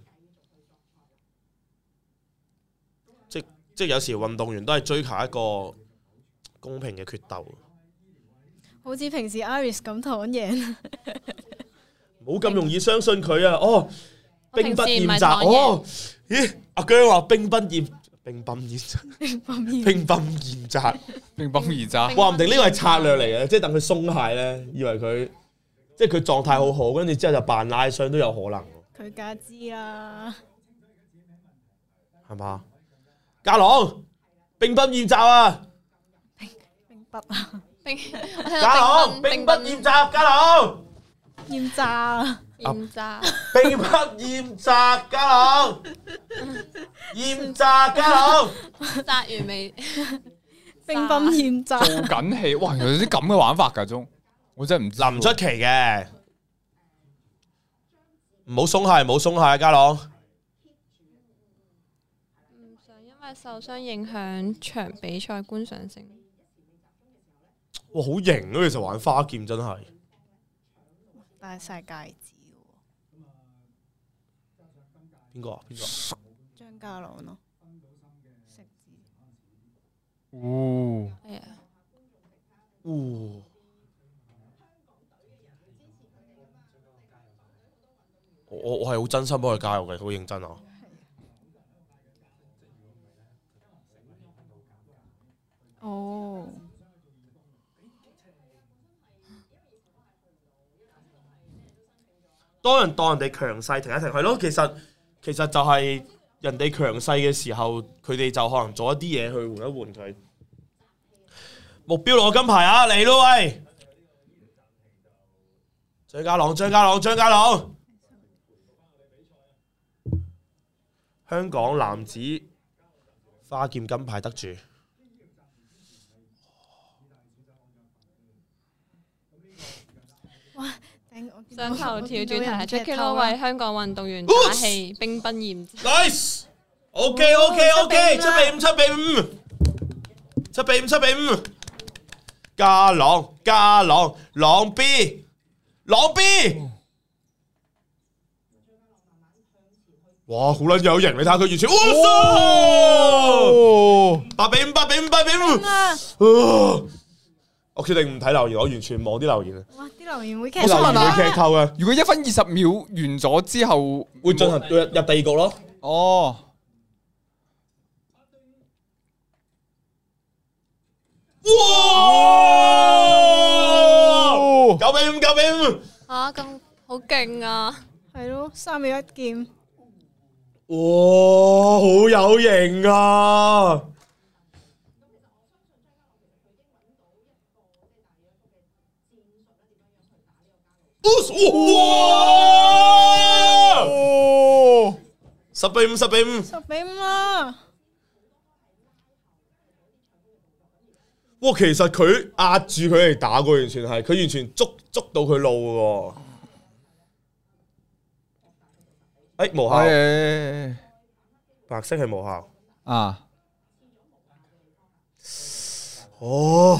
即即有時運動員都係追求一個公平嘅決鬥。 好似平時 Iris 咁躺贏， 冇咁容易相信佢啊！哦，兵不厭詐哦，咦？阿姜話兵不厭兵不厭詐，兵不厭詐， 乒乓而渣。 話唔定呢個係策略嚟嘅，即係等佢鬆懈咧，以為佢即係佢狀態好好，跟住之後就扮拉傷都有可能。 佢梗知啦， 係嘛？家朗兵不厭詐啊！ 兵兵不啊！ 兵家朗兵不厭詐，家朗厭詐厭詐， 兵不厭詐，家朗厭詐，家朗詐完未？ 兵不厭詐， 做緊戲，哇！有啲咁嘅玩法㗎，中我真係唔知。 唔出奇嘅，唔好鬆懈，唔好鬆懈啊，家朗。 唔想因為受傷影響場比賽觀賞性。 哇，好型啊！其實玩花劍真係， 戴晒戒指邊個啊？邊個？ 張家朗咯，食字。 哦， 係啊， 哦，我我係好真心幫佢加油嘅，好認真啊！ 哦。 當人當人哋強勢停一停，係咯，其實其實就係人哋強勢嘅時候，佢哋就可能做一啲嘢去換一換佢。目標攞金牌啊！嚟咯喂！張家朗，張家朗，張家朗！香港男子花劍金牌得主。 哇！ 上頭條主題係 Jacky Lou 為香港運動員打氣，兵不厭詐。 Nice，OK，OK，OK，七比五，七比五，七比五，七比五。家朗，家朗，朗 B， 朗 B。哇，好撚有型！你睇下佢完全，哇！八比五，八比五，八比五。我決定唔睇留言，我完全望啲留言啊！ 哇，啲留言會劇我想問下， 劇透嘅。 如果一分二十秒完咗之後， 會進行入入第二局咯。 哦。 哇！九比五，九比五。 啊，咁好勁啊！ 係咯，三秒一劍。 哇，好有型啊！哇！十比五，十比五， 十比五啊！ 哇，其實佢壓住佢嚟打過，完全係佢完全捉捉到佢路嘅。誒，無效，白色係無效啊！ 哦。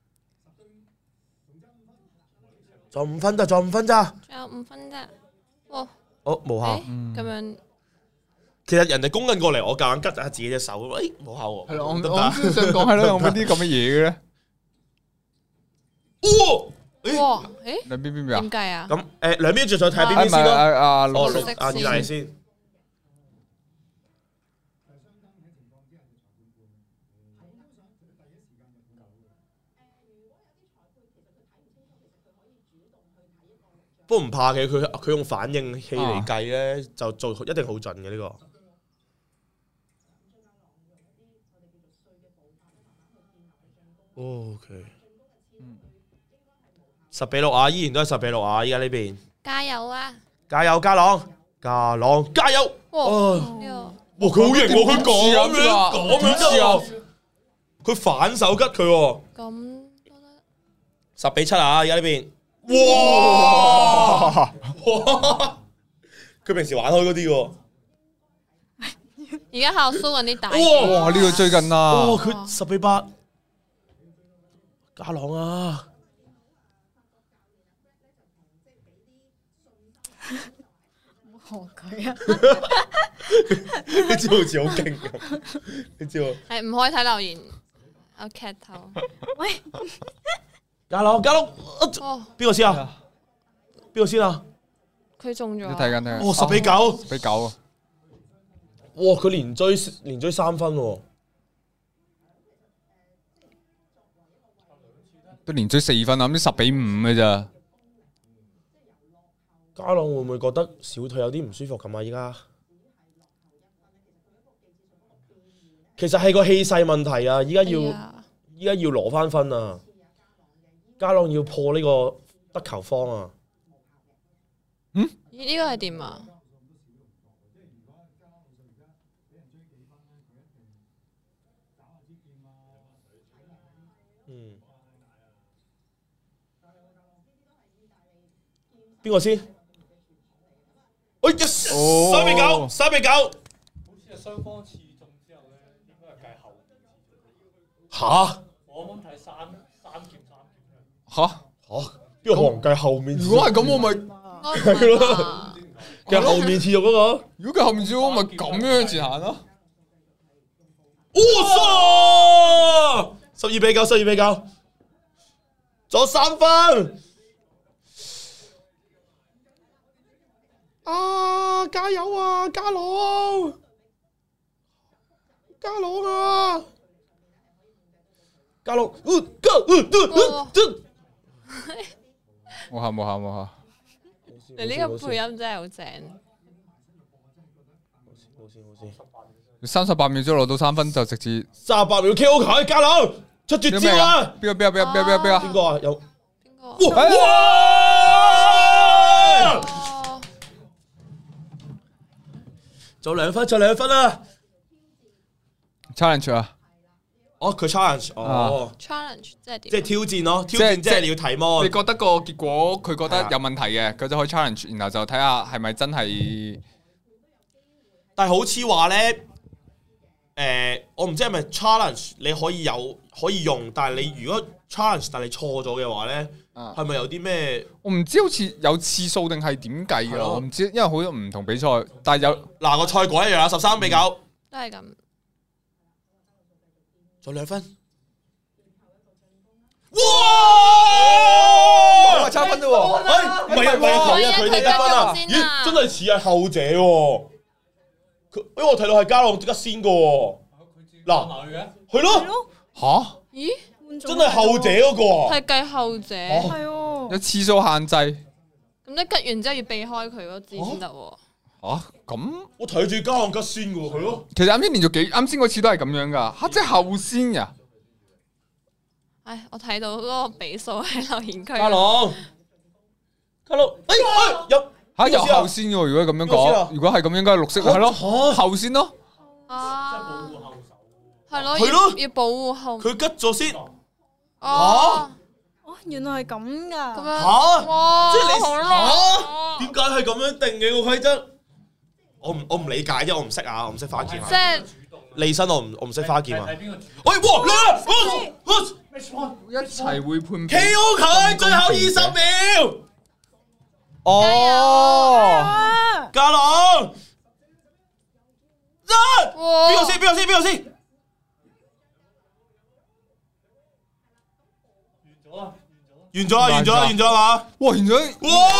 仲有五分咋，仲有五分咋？ 仲有五分咋？哇！ 哦，無效。 咁樣， 其實人哋攻緊過嚟，我夾硬拮下自己隻手，誒，無效喎。 係咯，我我先想講係咯，有冇啲咁嘅嘢嘅咧？ 哇！誒， 兩邊邊邊啊？ 點計啊？ 咁誒，兩邊再再睇邊邊先咯。 啊啊， 哦，綠啊，意大利先。不過唔怕嘅，佢佢用反應器嚟計咧，就做一定好準嘅呢個。O K，十比六啊，依然都係十比六啊！依家呢邊加油啊！ 加油，家朗，家朗，加油！ 哇！ 哇，佢好型喎，佢咁樣咁樣啫喎，佢反手吉佢喎。 咁十比七啊！而家呢邊。哇！佢平時玩開嗰啲喎， 而家喺度 show 緊啲大。 哇！呢個最近啊！ 哇！佢十比八，家朗啊！ 學佢啊！ 你知好似好勁咁，你知喎。 係唔可以睇留言，我劇透。 喂， 加佬加佬， 哦， 邊個先啊？邊個先啊？ 佢中咗。 你睇緊睇緊。 哦，十比九， 十比九啊！ 哇，佢連追連追三分喎。 都連追四分啊！咁十比五嘅咋？ 家朗會唔會覺得小腿有啲唔舒服咁啊？依家其實係個氣勢問題啊！依家要依家要攞翻分啊！家朗要破呢個得球荒啊！ 嗯？ 呢個係點啊？ 嗯。邊個先？哎呀！三比九，三比九。好似係雙方刺中之後咧，應該係計後面刺中。 嚇！ 我啱啱睇三三劍三劍。 嚇嚇！邊個可能計後面？ 如果係咁，我咪係咯。計後面刺肉嗰個。 如果計後面刺肉，我咪咁樣前行咯。 哇！十二比九，十二比九，仲有三分。啊！加油啊，家朗！家朗啊！家朗，呃，加，呃，呃，呃， 冇下冇下冇下。 你呢個配音真係好正。 冇事冇事。 三十八秒鐘攞到三分就直接。 三十八秒 K O 佢，家朗出絕招啊！ 邊個邊個邊個邊個邊個？ 邊個啊？有邊個？ 哇！仲有兩分，仲有兩分啦 ！challenge 啊！ 哦，佢 challenge，哦 ，challenge 即係點？ 即係挑戰咯，挑戰即係你要提摩。 你覺得個結果佢覺得有問題嘅，佢就可以 challenge，然後就睇下係咪真係。 但係好似話咧，誒，我唔知係咪 challenge 你可以有可以用，但係你如果 challenge 但係你錯咗嘅話咧，係咪有啲咩？ 我唔知好似有次數定係點計㗎，我唔知，因為好多唔同比賽，但係有嗱個賽果一樣啦，十三比九， 都係咁。 仲有兩分， 哇！差分啫喎， 哎，唔係啊，唔係啊，佢啊，佢哋得分啊，咦，真係似係後者喎，佢，因為我睇到係家朗即刻先個喎，嗱，係咯， 吓？ 咦？ 真係後者嗰個啊？ 係計後者， 係喎， 有次數限制。 咁你吉完之後要避開佢嗰支先得喎。 吓？咁我睇住家朗吉先嘅喎，係咯。 其實啱先連續幾啱先嗰次都係咁樣噶，吓即係後先噶。 唉，我睇到嗰個比數喺留言區。 家朗，家朗，哎哎有吓有後先喎，如果咁樣講，如果係咁應該係綠色係咯，後先咯。 啊，係咯， 係咯， 要保護後。 佢吉咗先。 哦， 哦，原來係咁噶。 咁樣吓， 哇， 即係你好吓，點解係咁樣定嘅個規則？我唔我唔理解啫，我唔識啊，我唔識花劍啊。 即係利申我唔我唔識花劍啊。 睇邊個主？ 喂，哇，嚟一齊會判 K O 佢，最後二十秒。 哦， 家朗，一，邊個先？邊個先？邊個先？完咗啦，完咗啦，完咗啦嘛！ 哇，完咗！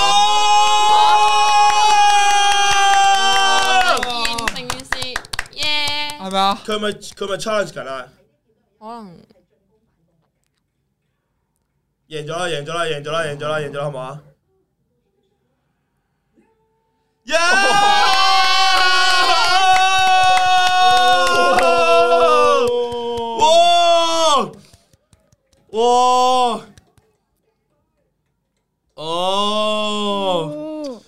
完成件事，耶！ 係咪啊？ 佢咪佢咪 challenge 緊啊？ 可能贏咗啦，贏咗啦，贏咗啦，贏咗啦，贏咗啦，好唔好啊？耶！哇！哇！哦！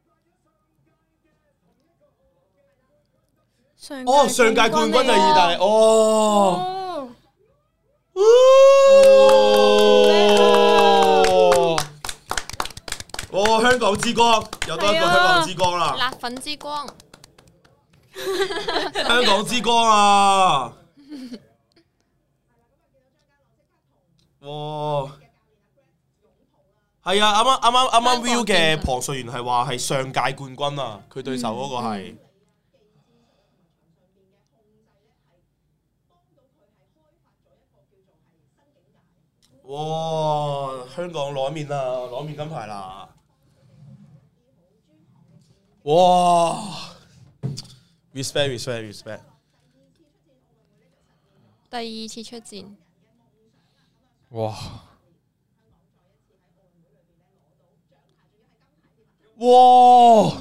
哦，上屆冠軍就係意大利，哦！哦，香港之光，又多一個香港之光啦！ 辣粉之光， 香港之光啊！哇！ 係啊，啱啱啱啱啱啱 Viu 嘅龐瑞元係話係上屆冠軍啊，佢對手嗰個係。哇！香港攞面啦，攞面金牌啦！哇 ！respect respect respect。 第二次出戰。 哇！ 哇！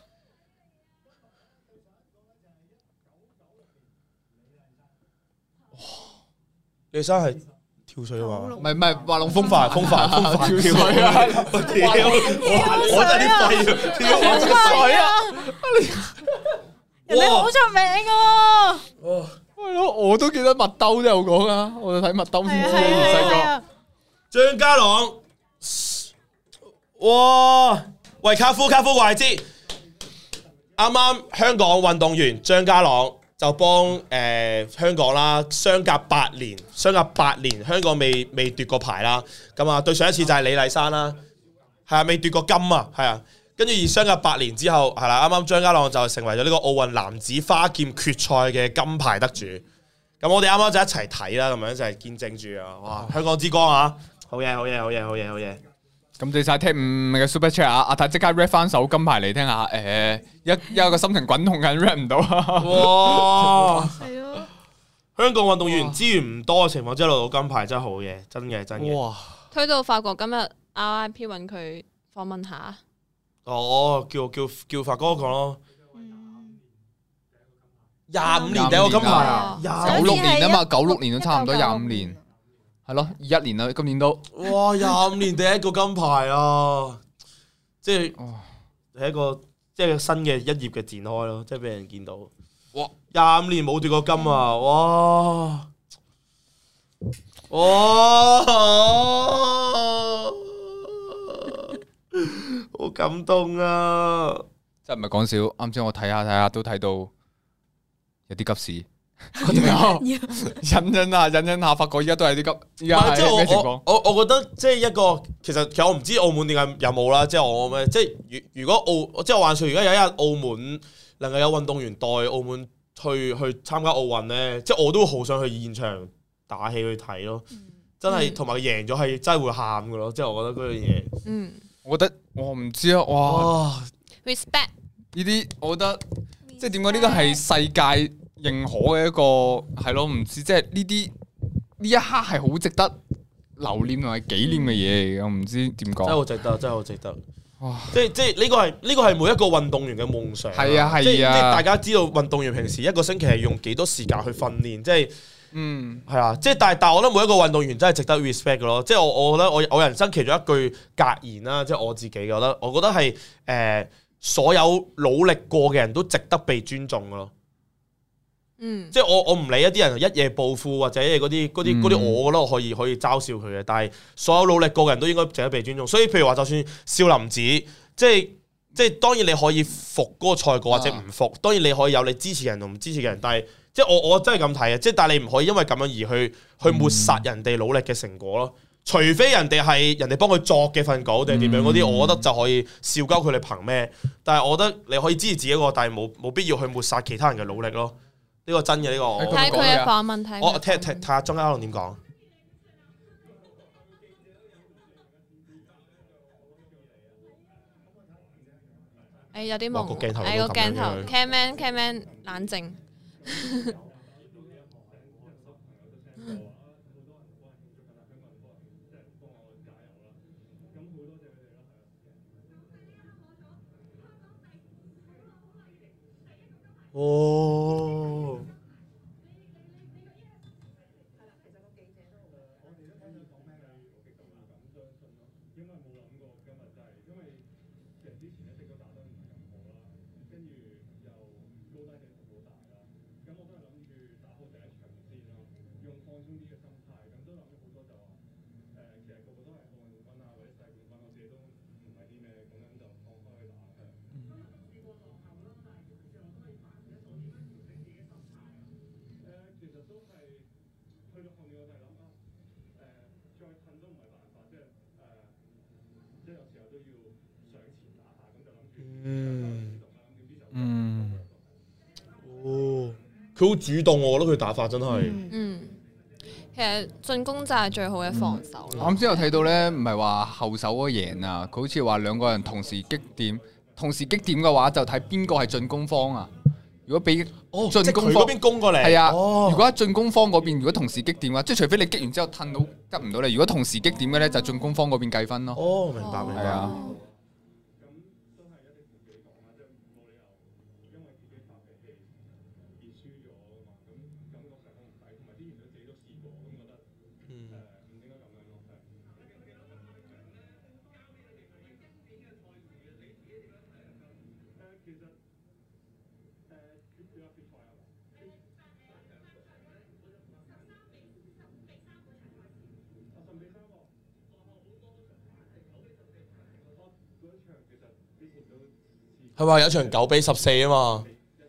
李生係跳水啊嘛？ 唔係唔係，滑龍風帆風帆風帆跳水啊！跳，我真係啲廢啊！跳水啊！ 人哋好出名噶。 哇！ 係咯，我都記得麥兜都有講啊，我就睇麥兜先知細個。 張家朗，哇！喂，卡夫卡夫話你知，啱啱香港運動員張家朗就幫誒、呃、香港啦，相隔八年，相隔八年香港未未奪過牌啦。咁啊，對上一次就係李麗珊啦，係啊，未奪過金啊，係啊。跟住而相隔八年之後，係啦，啱啱張家朗就成為咗呢個奧運男子花劍決賽嘅金牌得主。咁我哋啱啱就一齊睇啦，咁樣就係見證住啊！哇，香港之光啊！好嘢，好嘢，好嘢，好嘢，好嘢！ 咁謝晒聽五嘅 super chat 啊！阿泰即刻 rap 翻首金牌嚟聽下，誒一一個心情滾動緊 rap 唔到啊！ 哇！ 係咯， 香港運動員資源唔多嘅情況之下攞到金牌真係好嘢，真嘅真嘅。哇！ 推到法國今日 R I P 揾佢訪問下。 哦，叫叫叫發哥講咯。廿五年第一個金牌啊！ 九六年啊嘛，九六年都差唔多廿五年，係咯，二一年啦，今年都。 哇！廿五年第一個金牌啊！即係係一個即係新嘅一頁嘅展開咯，即係俾人見到。哇！廿五年冇奪過金啊！哇！哇！好感動啊！ 真係唔係講笑，啱先我睇下睇下都睇到有啲急事，忍忍下忍忍下，發覺依家都係啲急。依家係咩情況？ 我我我覺得即係一個其實其實我唔知澳門點解有冇啦，即係我咩？即係如如果澳即係話說，如果有一日澳門能夠有運動員代澳門去去參加奧運咧，即係我都好想去現場打氣去睇咯。真係同埋贏咗係真係會喊噶咯，即係我覺得嗰樣嘢。嗯。 我覺得我唔知啊，哇 ！respect 呢啲，我覺得即係點解呢個係世界認可嘅一個係咯？唔知即係呢啲呢一刻係好值得留念同埋紀念嘅嘢嚟嘅，我唔知點講。 真係好值得，真係好值得。哇！即係即係呢個係呢個係每一個運動員嘅夢想。 係啊係啊！即係大家知道運動員平時一個星期係用幾多時間去訓練，即係。嗯，係啊，即係但係但係，我覺得每一個運動員真係值得 respect 嘅咯。即係我我覺得我我人生其中一句格言啦，即係我自己覺得，我覺得係誒、呃、所有努力過嘅人都值得被尊重嘅咯。嗯，即係我我唔理一啲人一夜暴富或者嗰啲嗰啲嗰啲，我覺得我可以可以嘲笑佢嘅。但係所有努力過嘅人都應該值得被尊重。所以譬如話，就算少林寺，即係即係當然你可以服嗰個賽果或者唔服，當然你可以有你支持嘅人同唔支持嘅人，但係。即係我我真係咁睇嘅，即係但係你唔可以因為咁樣而去去抹殺人哋努力嘅成果咯。除非人哋係人哋幫佢作嘅份稿定係點樣嗰啲，我覺得就可以笑鳩佢哋憑咩？但係我覺得你可以支持自己一個，但係冇冇必要去抹殺其他人嘅努力咯。呢個真嘅呢個。 睇佢嘅訪問睇。 我聽聽睇下張家朗點講。 誒有啲懵，誒個鏡頭 ，camman camman 冷靜。 哦。 嗯嗯， 哦，佢好主動喎，我覺得佢打法真係。 嗯，其實進攻就係最好嘅防守。 我啱先有睇到咧，唔係話後手嗰贏啊，佢好似話兩個人同時擊點，同時擊點嘅話就睇邊個係進攻方啊。如果俾哦， 進攻方嗰邊攻過嚟， 係啊。 哦、 如果喺進攻方嗰邊，如果同時擊點嘅話，即係除非你擊完之後褪到吉唔到你，如果同時擊點嘅咧，就進攻方嗰邊計分咯。 哦，明白明白。 係啊。 係話有場九比十四啊嘛，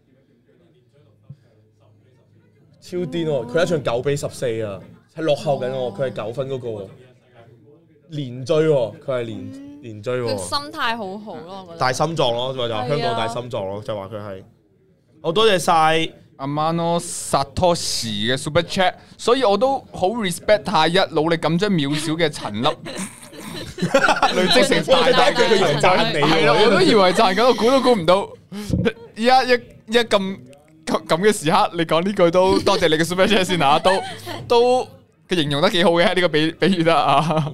超癲喎！佢一場九比十四啊，係落後緊喎，佢係九分嗰個喎，連追喎，佢係連連追喎。 佢心態好好咯，我覺得。 大心臟咯，就話香港大心臟咯，就話佢係。好多謝晒阿 Mano Satoshi 嘅 Super Chat， 所以我都好 respect 太一，努力咁將渺小嘅陳粒。累積成大大嘅， 佢以為讚你係咯，我都以為讚緊，我估都估唔到。依家一一咁咁嘅時刻，你講呢句都多謝你嘅 super chat 先嚇，都都嘅形容得幾好嘅呢個比比喻得啊。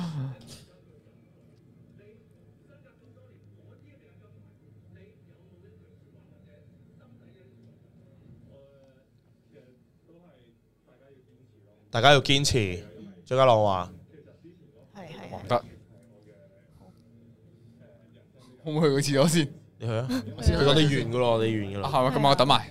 大家要堅持。張家朗話。 得，可唔可以去個廁所先？ 你去啊！佢講你完噶咯，你完噶啦。 係咪？今晚我等埋，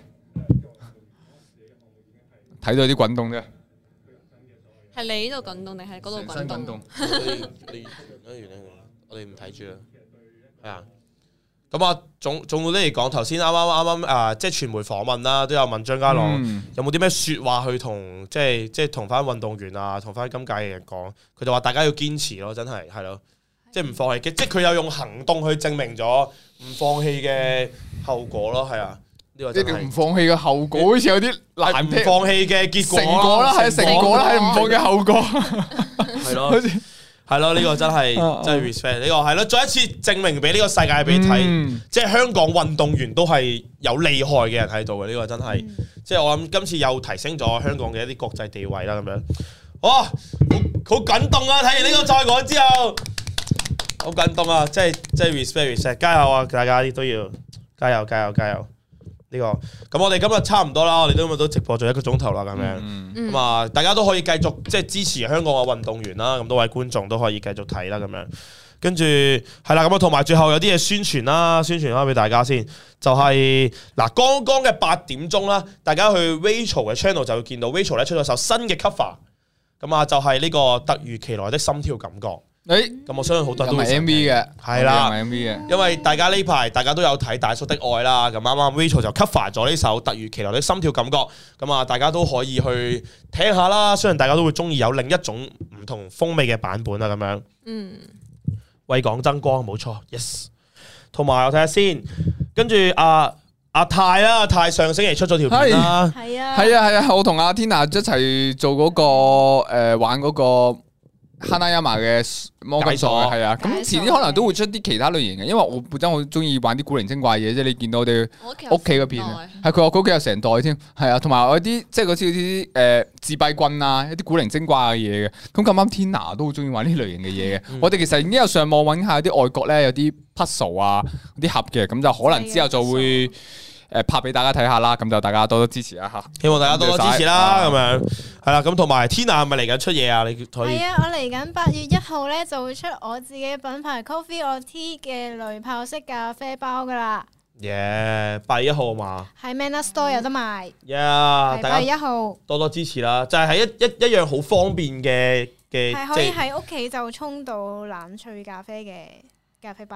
睇到啲滾動啫。 係你呢度滾動定係嗰度滾動？ 你你我哋唔睇住啦。係啊。咁啊，總總括啲嚟講，頭先啱啱啱啱啊，即係傳媒訪問啦，都有問張家朗、嗯、有冇啲咩説話去同即係即係同翻運動員啊，同翻今屆嘅人講，佢就話大家要堅持咯，真係係咯，即係唔放棄嘅，即係佢有用行動去證明咗唔放棄嘅後果咯，係啊，呢個真係唔放棄嘅後果好似有啲難聽， 唔放棄嘅結果成果啦，係成果啦，係唔放嘅後果， 係咯。係咯，呢、這個真係真係 respect 呢個係咯，再一次證明俾呢個世界俾你睇，嗯、即係香港運動員都係有厲害嘅人喺度嘅，呢、這個真係，嗯、即係我諗今次又提升咗香港嘅一啲國際地位啦，咁樣，哇，好好感動啊！睇完呢個賽果之後，好感動啊！即係即係 respect respect，加油啊！大家都要加油加油加油！呢、這個咁我哋今日差唔多啦，我哋今日都直播咗一個鐘頭啦，咁樣咁啊，大家都可以繼續即係支持香港嘅運動員啦，咁多位觀眾都可以繼續睇啦，咁樣跟住係啦，咁啊同埋最後有啲嘢宣傳啦，宣傳翻俾大家先，就係、是、嗱剛剛嘅八點鐘啦，大家去 Rachel 嘅 channel 就會見到 Rachel 咧出咗首新嘅 cover， 咁啊就係呢個突如其來的心跳感覺。誒，咁我相信好多人都會 M V 嘅， 係啦 ，M V 嘅， 因為大家呢排大家都有睇大叔的愛啦，咁啱啱 Rachel 就 cover 咗呢首突如其來的心跳感覺，咁啊大家都可以去聽下啦，相信大家都會中意有另一種唔同風味嘅版本啦，咁樣，嗯，為港爭光，冇錯 ，yes， 同埋我睇下先，跟住阿阿泰啦，阿泰上星期出咗條片啦， 係啊， 係啊係啊，我同阿 Tina 一齊做嗰個誒玩嗰個。哈娜亞馬嘅魔金鎖係啊，咁遲啲可能都會出啲其他類型嘅，因為我本身好中意玩啲古靈精怪嘢，即係你見到我哋屋企嗰片，係佢話佢屋企有成袋添，係啊，同埋我啲即係嗰啲啲誒自閉棍啊，一啲古靈精怪嘅嘢嘅，咁咁啱 Tina 都好中意玩呢類型嘅嘢嘅，嗯、我哋其實已經有上網揾下啲外國咧有啲 puzzle 啊，啲盒嘅，咁就可能之後就會。誒拍俾大家睇下啦，咁就大家多多支持一下，希望大家多多支持啦，咁樣係啦，咁同埋 Tina 係咪嚟緊出嘢啊？你可以係啊，我嚟緊八月一號咧就會出我自己品牌 Coffee or Tea 嘅濾泡式咖啡包噶啦。 耶！八月一號嘛， 喺 Manner Store 有得賣。 耶！大家八月一號多多支持啦，就係喺一一一樣好方便嘅嘅， 係可以喺屋企就沖到冷萃咖啡嘅咖啡包。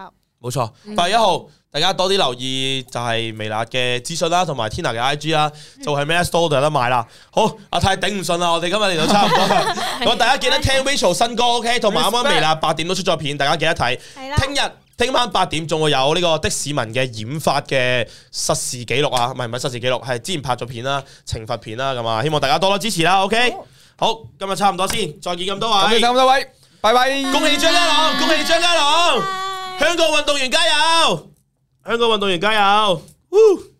冇錯，八月一號大家多啲留意就係微辣嘅資訊啦，同埋 Tina 嘅 I G 啦，就係 Mass Store 度有得買啦。好，阿泰頂唔順啦，我哋今日嚟到差唔多，咁大家記得聽 Rachel 新歌 OK， 同埋啱啱微辣八點都出咗片，大家記得睇。聽日聽晚八點仲會有呢個的市民嘅染髮嘅實時記錄啊，唔係唔係實時記錄，係之前拍咗片啦，懲罰片啦，咁啊，希望大家多多支持啦 OK。好，今日差唔多先，再見咁多位， 咁多位，拜拜， 恭喜張家朗，恭喜張家朗。香港運動員加油！香港運動員加油！